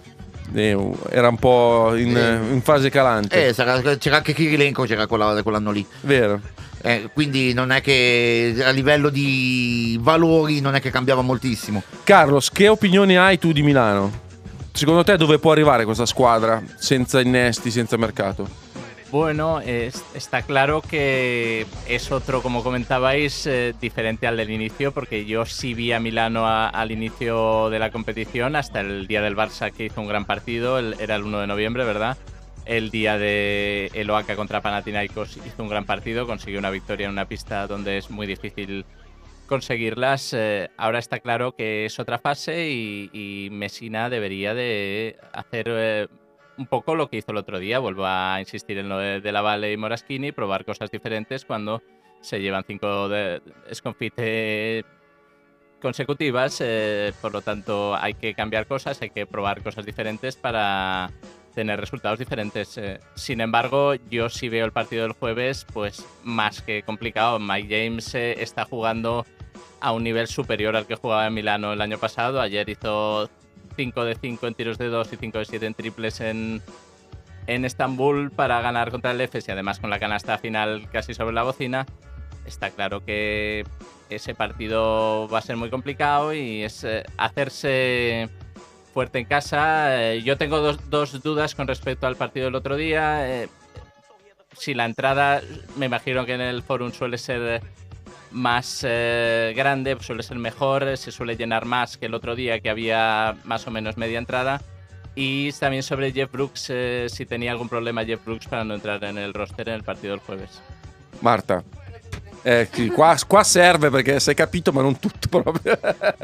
Era un po' in fase calante. C'era anche Kirilenko, c'era quell'anno lì. Vero. Quindi non è che a livello di valori non è che cambiava moltissimo. Carlos, che opinioni hai tu di Milano? Secondo te dove può arrivare questa squadra senza innesti, senza mercato? Bueno, está claro que es otro, como comentabais, diferente al del inicio, porque yo sí vi a Milano al inicio de la competición, hasta el día del Barça, que hizo un gran partido, era el 1 de noviembre, ¿verdad? El día de el Oaxaca contra Panathinaikos hizo un gran partido, consiguió una victoria en una pista donde es muy difícil conseguirlas. Ahora está claro que es otra fase y Messina debería de hacer un poco lo que hizo el otro día. Vuelvo a insistir en lo de la Valle y Moraschini, probar cosas diferentes cuando se llevan 5 sconfitte consecutivas. Por lo tanto, hay que cambiar cosas, hay que probar cosas diferentes para tener resultados diferentes. Sin embargo, yo sí veo el partido del jueves pues más que complicado. Mike James está jugando a un nivel superior al que jugaba en Milano el año pasado. Ayer hizo 5 de 5 en tiros de 2 y 5 de 7 en triples en Estambul para ganar contra el EFES, y además con la canasta final casi sobre la bocina. Está claro que ese partido va a ser muy complicado y es hacerse fuerte en casa. Yo tengo dos dudas con respecto al partido del otro día. Si la entrada, me imagino que en el Forum suele ser más grande, suele ser mejor, se suele llenar más que el otro día, que había más o menos media entrada. Y también sobre Jeff Brooks, si tenía algún problema Jeff Brooks para no entrar en el roster en el partido del jueves. Marta. Sì, qua serve perché sei capito, ma non tutto proprio.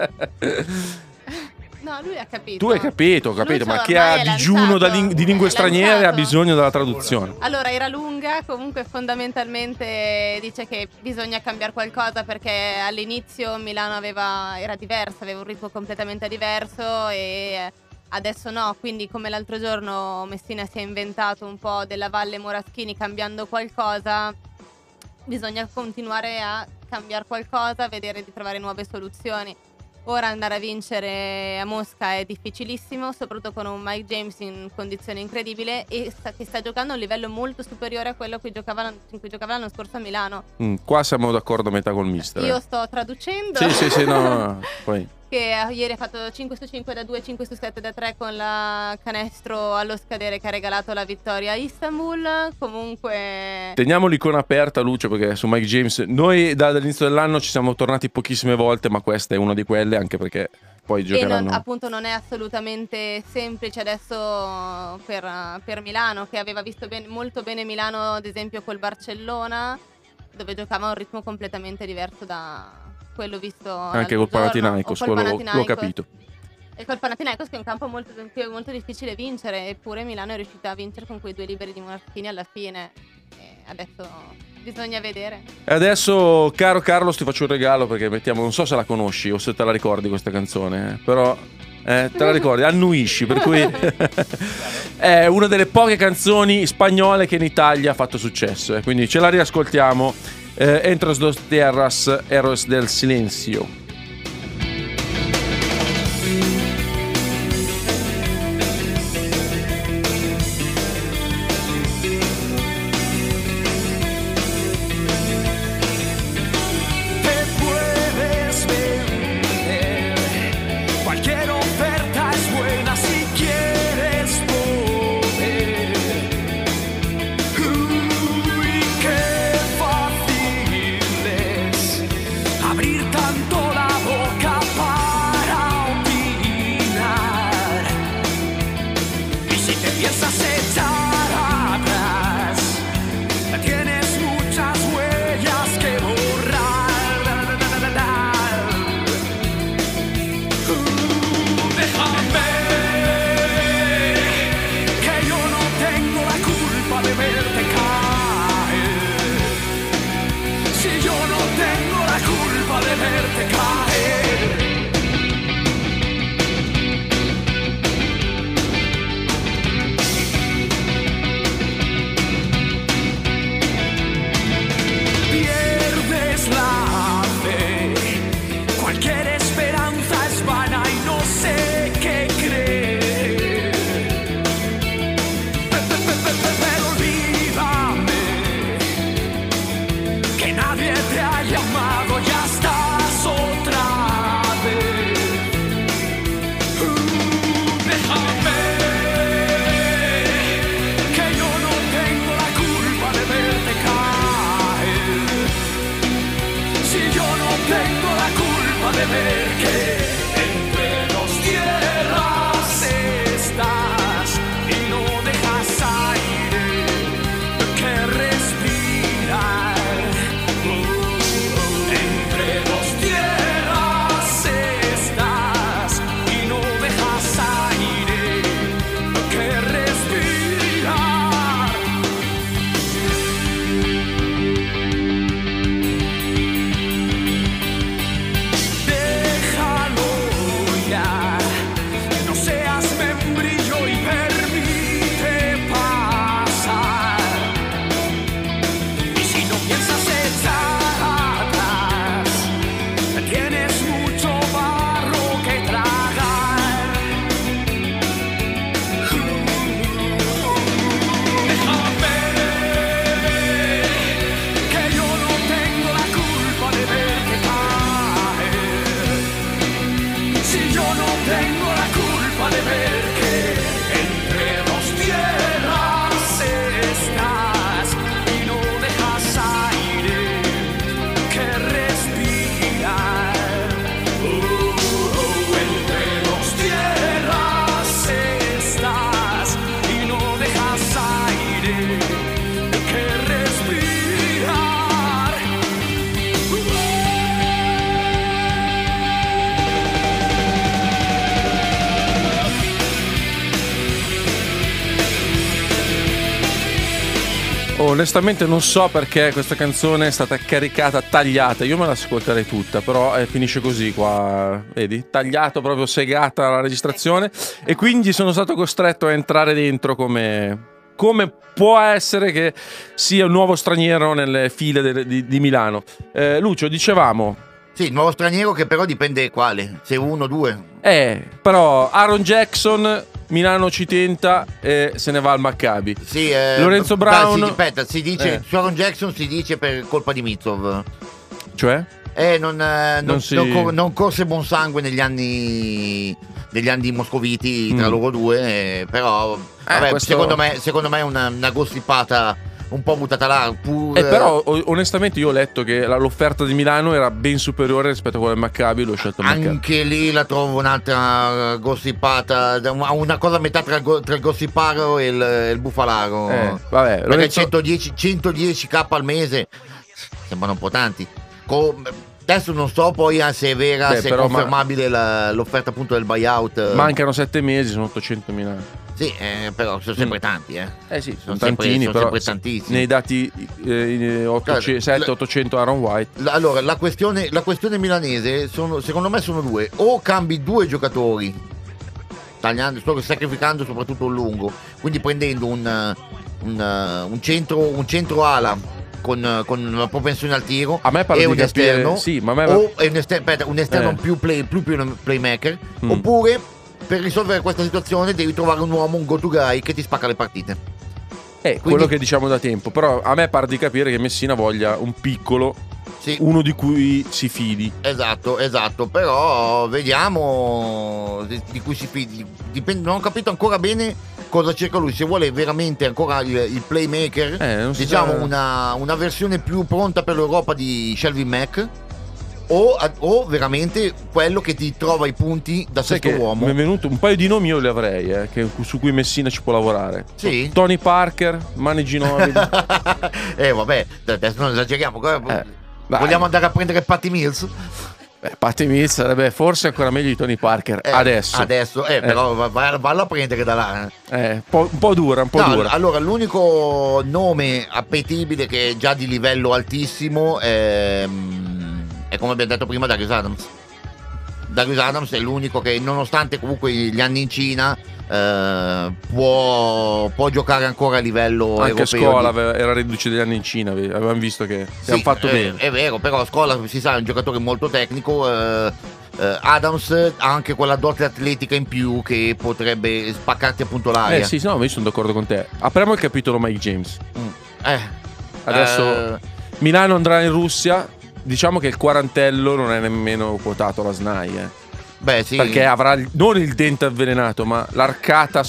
No, lui ha capito. Tu hai capito, Lui ma c'ha chi ha ormai digiuno lanciato. di lingue È straniere ha lanciato. bisogno della traduzione. Allora, era lunga, comunque fondamentalmente dice che bisogna cambiare qualcosa perché all'inizio Milano era diversa, aveva un ritmo completamente diverso e adesso no, quindi come l'altro giorno Messina si è inventato un po' della Valle Moraschini cambiando qualcosa, bisogna continuare a cambiare qualcosa, vedere di trovare nuove soluzioni. Ora andare a vincere a Mosca è difficilissimo, soprattutto con un Mike James in condizione incredibile e che sta giocando a un livello molto superiore a quello in cui giocava l'anno scorso a Milano. Qua siamo d'accordo a metà col mister. Io sto traducendo. Sì, no. Poi. Che ieri ha fatto 5 su 5 da 2, 5 su 7 da 3 con la canestro allo scadere che ha regalato la vittoria a Istanbul. Comunque Teniamo l'icona aperta, Lucio, perché su Mike James noi dall'inizio dell'anno ci siamo tornati pochissime volte, ma questa è una di quelle, anche perché poi giocheranno. appunto non è assolutamente semplice adesso per Milano, che aveva visto molto bene Milano ad esempio col Barcellona, dove giocava a un ritmo completamente diverso da quello visto Anche col Panathinaikos, l'ho capito. E col Panathinaikos, che è un campo molto difficile vincere, eppure Milano è riuscita a vincere con quei 2 liberi di Moraschini alla fine. E adesso bisogna vedere. E adesso, caro Carlos, ti faccio un regalo perché non so se la conosci o se te la ricordi questa canzone, però te la ricordi, annuisci, per cui è una delle poche canzoni spagnole che in Italia ha fatto successo, quindi ce la riascoltiamo. Entras dos tierras, Héroes del Silencio. Abrir tanto la onestamente non so perché questa canzone è stata caricata, tagliata. Io me la ascolterei tutta, però finisce così qua, vedi? Tagliato, proprio segata la registrazione. E quindi sono stato costretto a entrare dentro come può essere che sia un nuovo straniero nelle file di Milano. Lucio, dicevamo... Sì, il nuovo straniero che però dipende quale, se uno o due. Però Aaron Jackson, Milano ci tenta e se ne va al Maccabi. Sì, Lorenzo Brown... Aspetta, si dice, su Aaron Jackson si dice per colpa di Mitsov. Cioè? Non corse buon sangue negli anni moscoviti tra loro due, però vabbè, questo... secondo me è una gossipata un po' buttata là. Però onestamente io ho letto che l'offerta di Milano era ben superiore rispetto a quella del Maccabi, l'ho scelto il Maccabi. Anche lì la trovo un'altra gossipata, una cosa a metà tra il gossiparo e il bufalaro. Vabbè, perché 110k al mese sembrano un po' tanti. Adesso non so poi se è vera, se è confermabile l'offerta appunto del buyout. Mancano 7 mesi, sono 800.000. Sì, però sono sempre tanti, sì, sono tantini, sono però sempre tantissimi. nei dati 700-800 Aaron White. Allora, la questione milanese secondo me sono due. O cambi due giocatori, sacrificando soprattutto un lungo, quindi prendendo un centro ala con una propensione al tiro a me e un esterno, o un esterno più playmaker, oppure per risolvere questa situazione devi trovare un uomo, un go-to guy che ti spacca le partite. Quello che diciamo da tempo. Però a me pare di capire che Messina voglia un piccolo, uno di cui si fidi. Esatto, però vediamo di cui si fidi. Dipende, non ho capito ancora bene cosa cerca lui, se vuole veramente ancora il playmaker, diciamo una versione più pronta per l'Europa di Shelvin Mack, o veramente quello che ti trova i punti da sesto uomo. Mi è venuto un paio di nomi, io li avrei, su cui Messina ci può lavorare. Sì? Tony Parker, Manu Ginobili. Vabbè, adesso non esageriamo. Vogliamo andare a prendere Patty Mills? Patty Mills sarebbe forse ancora meglio di Tony Parker adesso, però vallo a prendere da là. Un po' dura. Allora, l'unico nome appetibile che è già di livello altissimo è come abbiamo detto prima Darius Adams. Darius Adams è l'unico che, nonostante comunque gli anni in Cina, può giocare ancora a livello anche europeo. Scola era reduce degli anni in Cina, avevamo visto che hanno fatto bene. È vero, però Scola si sa è un giocatore molto tecnico. Adams ha anche quella dote atletica in più che potrebbe spaccarti appunto l'aria. Sì, no, io sono d'accordo con te. Apriamo il capitolo Mike James. Adesso Milano andrà in Russia. Diciamo che il quarantello non è nemmeno quotato alla SNAI, sì. Perché avrà non il dente avvelenato, ma l'arcata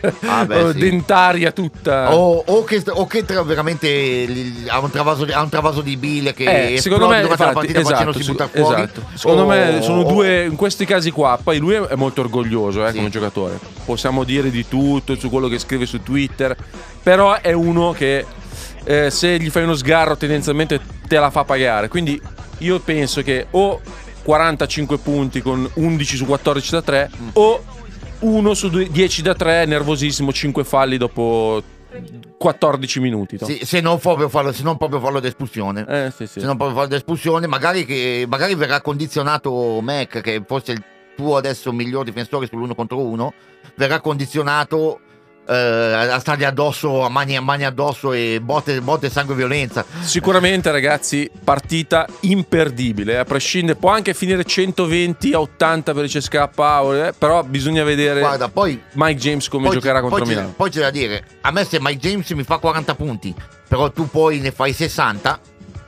dentaria tutta. O che veramente ha un travaso di bile che secondo me durante la partita facendo si butta fuori. Secondo me sono due in questi casi qua. Poi lui è molto orgoglioso come giocatore. Possiamo dire di tutto su quello che scrive su Twitter, però è uno che se gli fai uno sgarro tendenzialmente te la fa pagare. Quindi io penso che o 45 punti con 11 su 14 da 3 o 1 su 10 da 3 nervosissimo, 5 falli dopo 14 minuti. Sì, se non proprio fallo d'espulsione. Se non proprio fallo d'espulsione, magari verrà condizionato Mac, che forse è il tuo adesso miglior difensore sull'1 contro 1, verrà condizionato a stargli addosso, a mani addosso e botte, sangue e violenza. Sicuramente, ragazzi, partita imperdibile, a prescindere. Può anche finire 120-80 per il CSKA, però bisogna vedere. Guarda, poi Mike James come giocherà contro Milano. Poi c'è da dire, a me se Mike James mi fa 40 punti, però tu poi ne fai 60,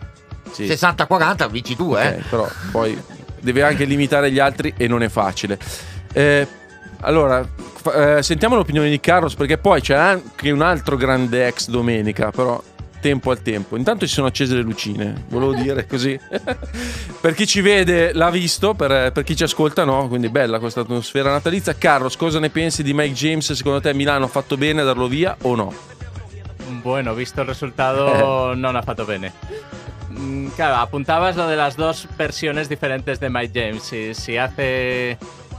60-40 vinci tu, Però poi deve anche limitare gli altri e non è facile. Allora, sentiamo l'opinione di Carlos, perché poi c'è anche un altro grande ex domenica, però tempo al tempo. Intanto ci sono accese le lucine, volevo dire così. Per chi ci vede l'ha visto, per chi ci ascolta no, quindi bella questa atmosfera natalizia. Carlos, cosa ne pensi di Mike James? Secondo te Milano ha fatto bene a darlo via o no? Bueno, visto el resultado no ha fatto bene. Claro, apuntabas lo de las dos versiones diferentes de Mike James. Si hace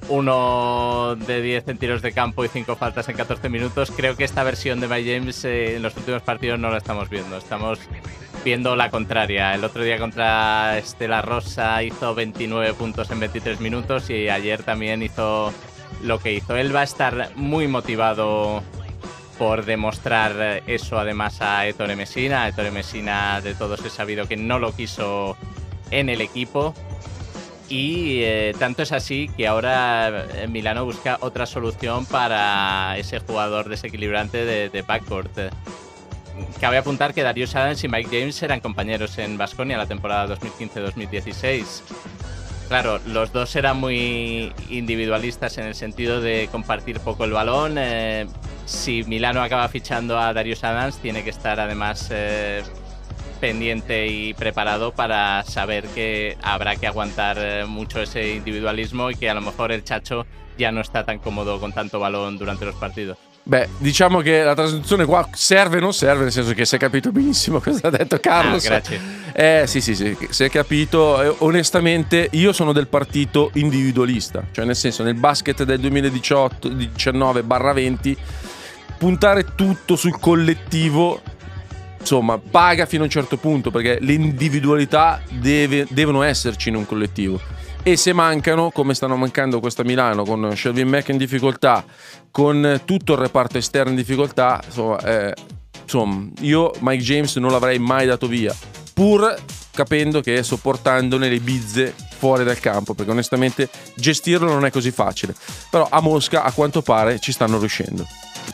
1 de 10 en tiros de campo y 5 faltas en 14 minutos. Creo que esta versión de Mike James en los últimos partidos no la estamos viendo. Estamos viendo la contraria. El otro día contra Estela Rosa hizo 29 puntos en 23 minutos y ayer también hizo lo que hizo. Él va a estar muy motivado por demostrar eso además a Ettore Messina. Ettore Messina, de todos es sabido que no lo quiso en el equipo. Y tanto es así que ahora Milano busca otra solución para ese jugador desequilibrante de backcourt. Cabe apuntar que Darius Adams y Mike James eran compañeros en Baskonia la temporada 2015-2016. Claro, los dos eran muy individualistas en el sentido de compartir poco el balón. Si Milano acaba fichando a Darius Adams, tiene que estar además pendiente y preparado para saber que habrá que aguantar mucho ese individualismo y que a lo mejor el Chacho ya no está tan cómodo con tanto balón durante los partidos. Beh, diciamo che la trasmissione qua serve o non serve, nel senso che si è capito benissimo cosa ha detto Carlos. Grazie. Sì, si è capito. Onestamente, io sono del partito individualista, cioè nel senso, nel basket del 2019-20 puntare tutto sul collettivo, insomma, paga fino a un certo punto, perché le individualità devono esserci in un collettivo. E se mancano, come stanno mancando questa Milano, con Shelvin Mack in difficoltà, con tutto il reparto esterno in difficoltà, insomma, io Mike James non l'avrei mai dato via, pur capendo che sopportandone le bizze fuori dal campo, perché onestamente gestirlo non è così facile. Però a Mosca, a quanto pare, ci stanno riuscendo.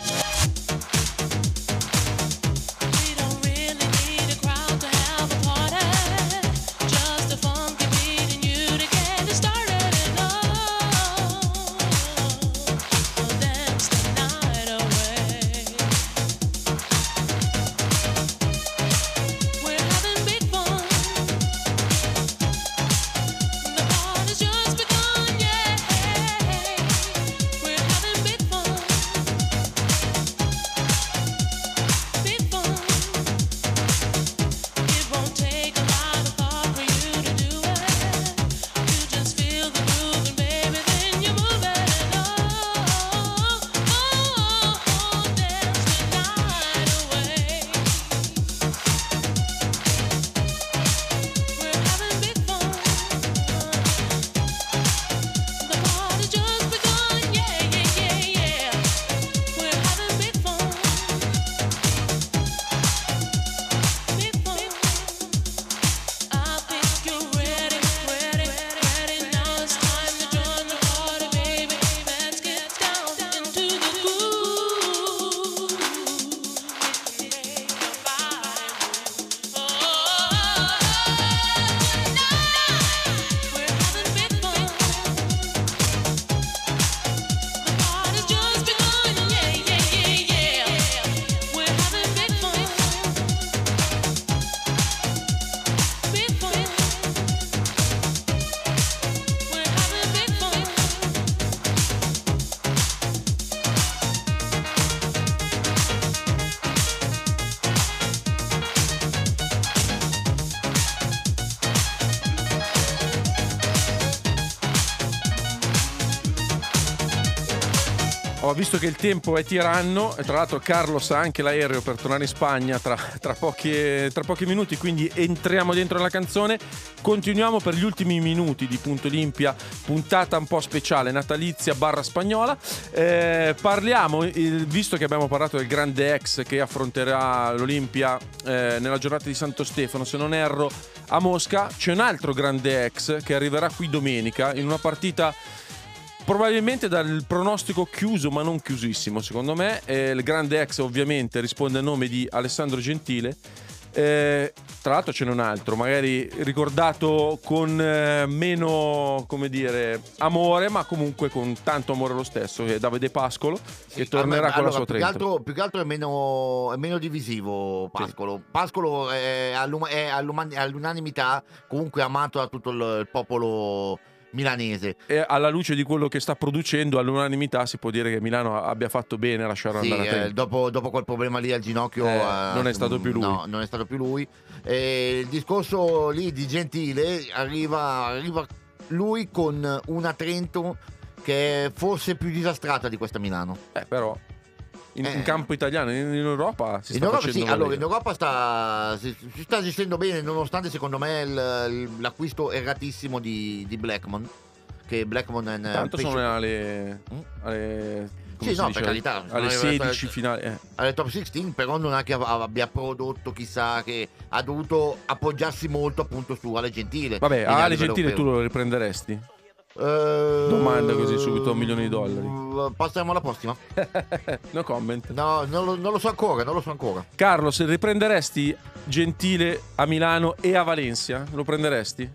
Ho visto che il tempo è tiranno e tra l'altro Carlos ha anche l'aereo per tornare in Spagna tra pochi minuti, quindi entriamo dentro la canzone. Continuiamo per gli ultimi minuti di Punto Olimpia, puntata un po' speciale natalizia / spagnola. Parliamo, visto che abbiamo parlato del grande ex che affronterà l'Olimpia nella giornata di Santo Stefano, se non erro, a Mosca, c'è un altro grande ex che arriverà qui domenica in una partita probabilmente dal pronostico chiuso, ma non chiusissimo secondo me. Il grande ex ovviamente risponde al nome di Alessandro Gentile. Tra l'altro ce n'è un altro, magari ricordato con meno, come dire, amore, ma comunque con tanto amore lo stesso, che è Davide Pascolo, che tornerà con la sua Trento. Più che altro è meno divisivo Pascolo. Sì. Pascolo è all'unanimità comunque amato da tutto il popolo milanese. E alla luce di quello che sta producendo, all'unanimità si può dire che Milano abbia fatto bene a lasciarlo andare a Trento. Dopo quel problema lì al ginocchio non è stato più lui. No, non è stato più lui. Il discorso lì di Gentile arriva lui con una Trento che è forse più disastrata di questa Milano. Però in campo italiano, in Europa si sta Europa, facendo sì, valere. allora in Europa si sta gestendo bene, nonostante secondo me l'acquisto erratissimo di Blackmon. Che Blackmon è Tanto sono alle come sì, si no, dice, per carità, alle 16 finali. Alle top 16, però non è che abbia prodotto chissà, che ha dovuto appoggiarsi molto appunto su Ale Gentile. Vabbè, Quindi a Ale livello Gentile tu europeo. lo riprenderesti? Domanda così subito, $1 milioni. Passiamo alla prossima. No comment. No, non lo so ancora. Carlos, riprenderesti Gentile a Milano e a Valencia? ¿Lo prenderesti?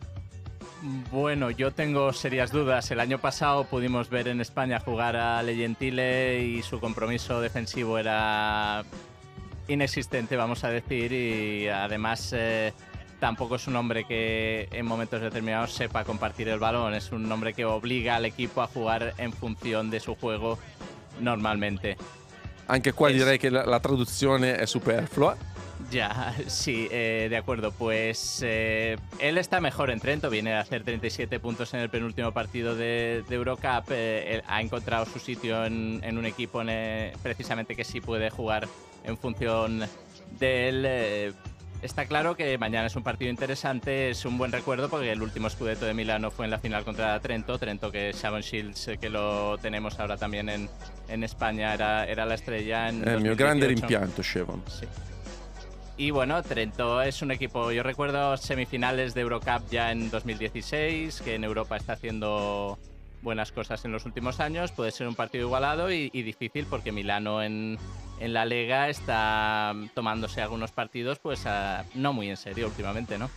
Bueno, yo tengo serias dudas. El año pasado pudimos ver en España jugar a Ale Gentile y su compromiso defensivo era inexistente, vamos a decir, y además tampoco es un hombre que en momentos determinados sepa compartir el balón. Es un hombre que obliga al equipo a jugar en función de su juego normalmente. Anche qua direi che la traduzione è superflua. Ya, sí, de acuerdo. Pues él está mejor en Trento, viene a hacer 37 puntos en el penúltimo partido de Eurocup. Él ha encontrado su sitio en un equipo precisamente que sí puede jugar en función de él. Está claro que mañana es un partido interesante, es un buen recuerdo porque el último Scudetto de Milano fue en la final contra Trento que Shavon Shields, que lo tenemos ahora también en España, era la estrella en 2018. Il mio grande rimpianto, Shavon. Sí. Y bueno, Trento es un equipo, yo recuerdo semifinales de Eurocup ya en 2016, que en Europa está haciendo buenas cosas en los últimos años. Puede ser un partido igualado y difícil porque Milano en la Lega está tomándose algunos partidos pues no muy en serio últimamente, ¿no?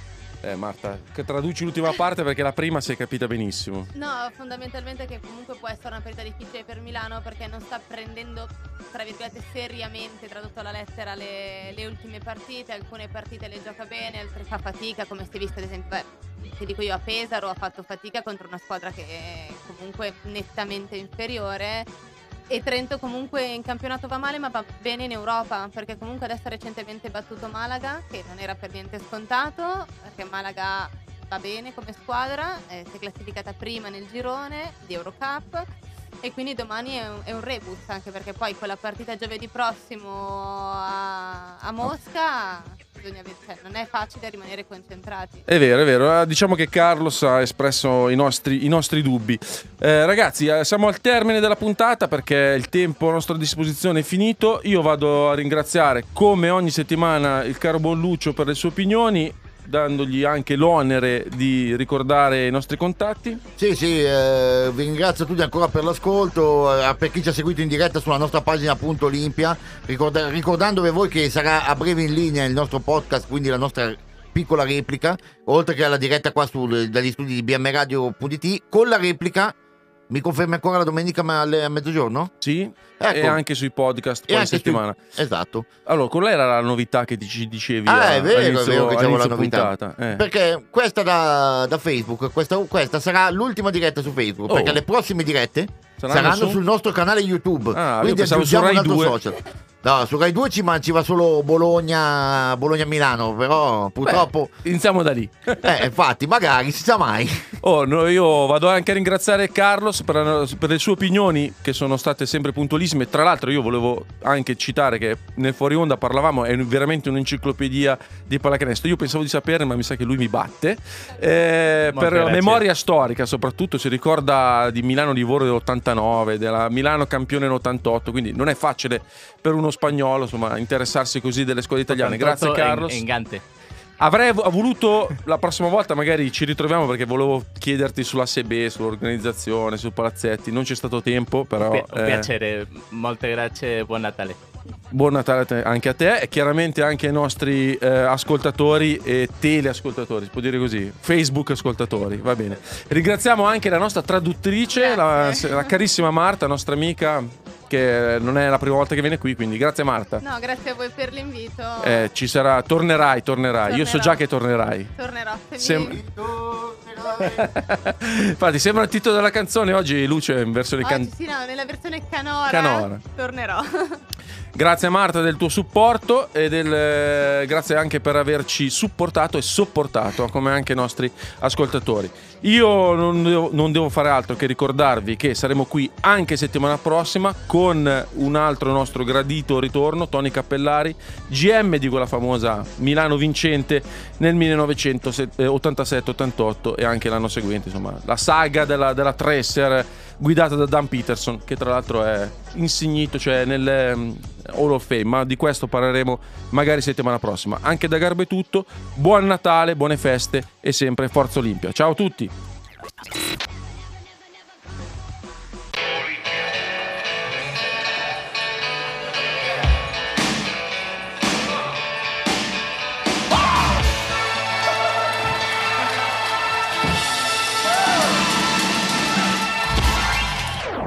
Marta, che traduci l'ultima parte perché la prima si è capita benissimo. No, fondamentalmente che comunque può essere una partita difficile per Milano perché non sta prendendo, tra virgolette, seriamente, tradotto alla lettera, le ultime partite. Alcune partite le gioca bene, altre fa fatica, come si è visto ad esempio, ti dico io, a Pesaro ha fatto fatica contro una squadra che è comunque nettamente inferiore. E Trento comunque in campionato va male, ma va bene in Europa, perché comunque adesso ha recentemente battuto Malaga, che non era per niente scontato, perché Malaga va bene come squadra, si è classificata prima nel girone di Eurocup, e quindi domani è un rebus, anche perché poi con la partita giovedì prossimo a Mosca non è facile rimanere concentrati. È vero. Diciamo che Carlos ha espresso i nostri dubbi. Ragazzi, siamo al termine della puntata perché il tempo a nostra disposizione è finito. Io vado a ringraziare come ogni settimana il caro buon Lucio per le sue opinioni, dandogli anche l'onere di ricordare i nostri contatti. Sì, vi ringrazio tutti ancora per l'ascolto, per chi ci ha seguito in diretta sulla nostra pagina Olimpia, ricordandovi voi che sarà a breve in linea il nostro podcast, quindi la nostra piccola replica, oltre che alla diretta qua dagli studi di bmradio.it, con la replica. Mi confermi ancora la domenica a mezzogiorno? Sì, ecco. E anche sui podcast poi settimana. Esatto. Allora, quella era la novità che ci dicevi è vero che c'avevo la novità. Puntata. Perché questa da Facebook, questa sarà l'ultima diretta su Facebook, perché le prossime dirette saranno sul nostro canale YouTube. Quindi aggiungiamo un altro social. No, su Rai 2 ci va solo Bologna-Milano, però purtroppo... Iniziamo da lì. Infatti, magari, si sa mai. Io vado anche a ringraziare Carlos per le sue opinioni, che sono state sempre puntualissime. Tra l'altro io volevo anche citare che nel fuori onda parlavamo, è veramente un'enciclopedia di pallacanestro. Io pensavo di sapere, ma mi sa che lui mi batte. Per la memoria storica soprattutto, si ricorda di Milano-Livorno dell'89, della Milano campione nell'88, quindi non è facile per uno spagnolo, insomma, interessarsi così delle squadre italiane. Grazie Carlos. Engante. Avrei voluto la prossima volta, magari ci ritroviamo, perché volevo chiederti sulla SB, sull'organizzazione, su Palazzetti. Non c'è stato tempo, però un piacere, molte grazie, buon Natale. Buon Natale anche a te e chiaramente anche ai nostri ascoltatori e teleascoltatori, si può dire così, Facebook ascoltatori, va bene. Ringraziamo anche la nostra traduttrice, la carissima Marta, nostra amica, che non è la prima volta che viene qui, quindi grazie Marta. No, grazie a voi per l'invito. Ci sarà, tornerai. Io so già che tornerai. Tornerò. Infatti sembra il titolo della canzone. Oggi Luce in versione Sì, no, nella versione canora. Tornerò. Grazie a Marta del tuo supporto e grazie anche per averci supportato e sopportato, come anche i nostri ascoltatori. Io non devo fare altro che ricordarvi che saremo qui anche settimana prossima con un altro nostro gradito ritorno, Tony Cappellari, GM di quella famosa Milano vincente nel 1987-88 e anche l'anno seguente, insomma, la saga della Tracer guidata da Dan Peterson, che tra l'altro è insignito, cioè nel Hall of Fame, ma di questo parleremo magari settimana prossima. Anche da Garbo è tutto, buon Natale, buone feste e sempre Forza Olimpia. Ciao a tutti!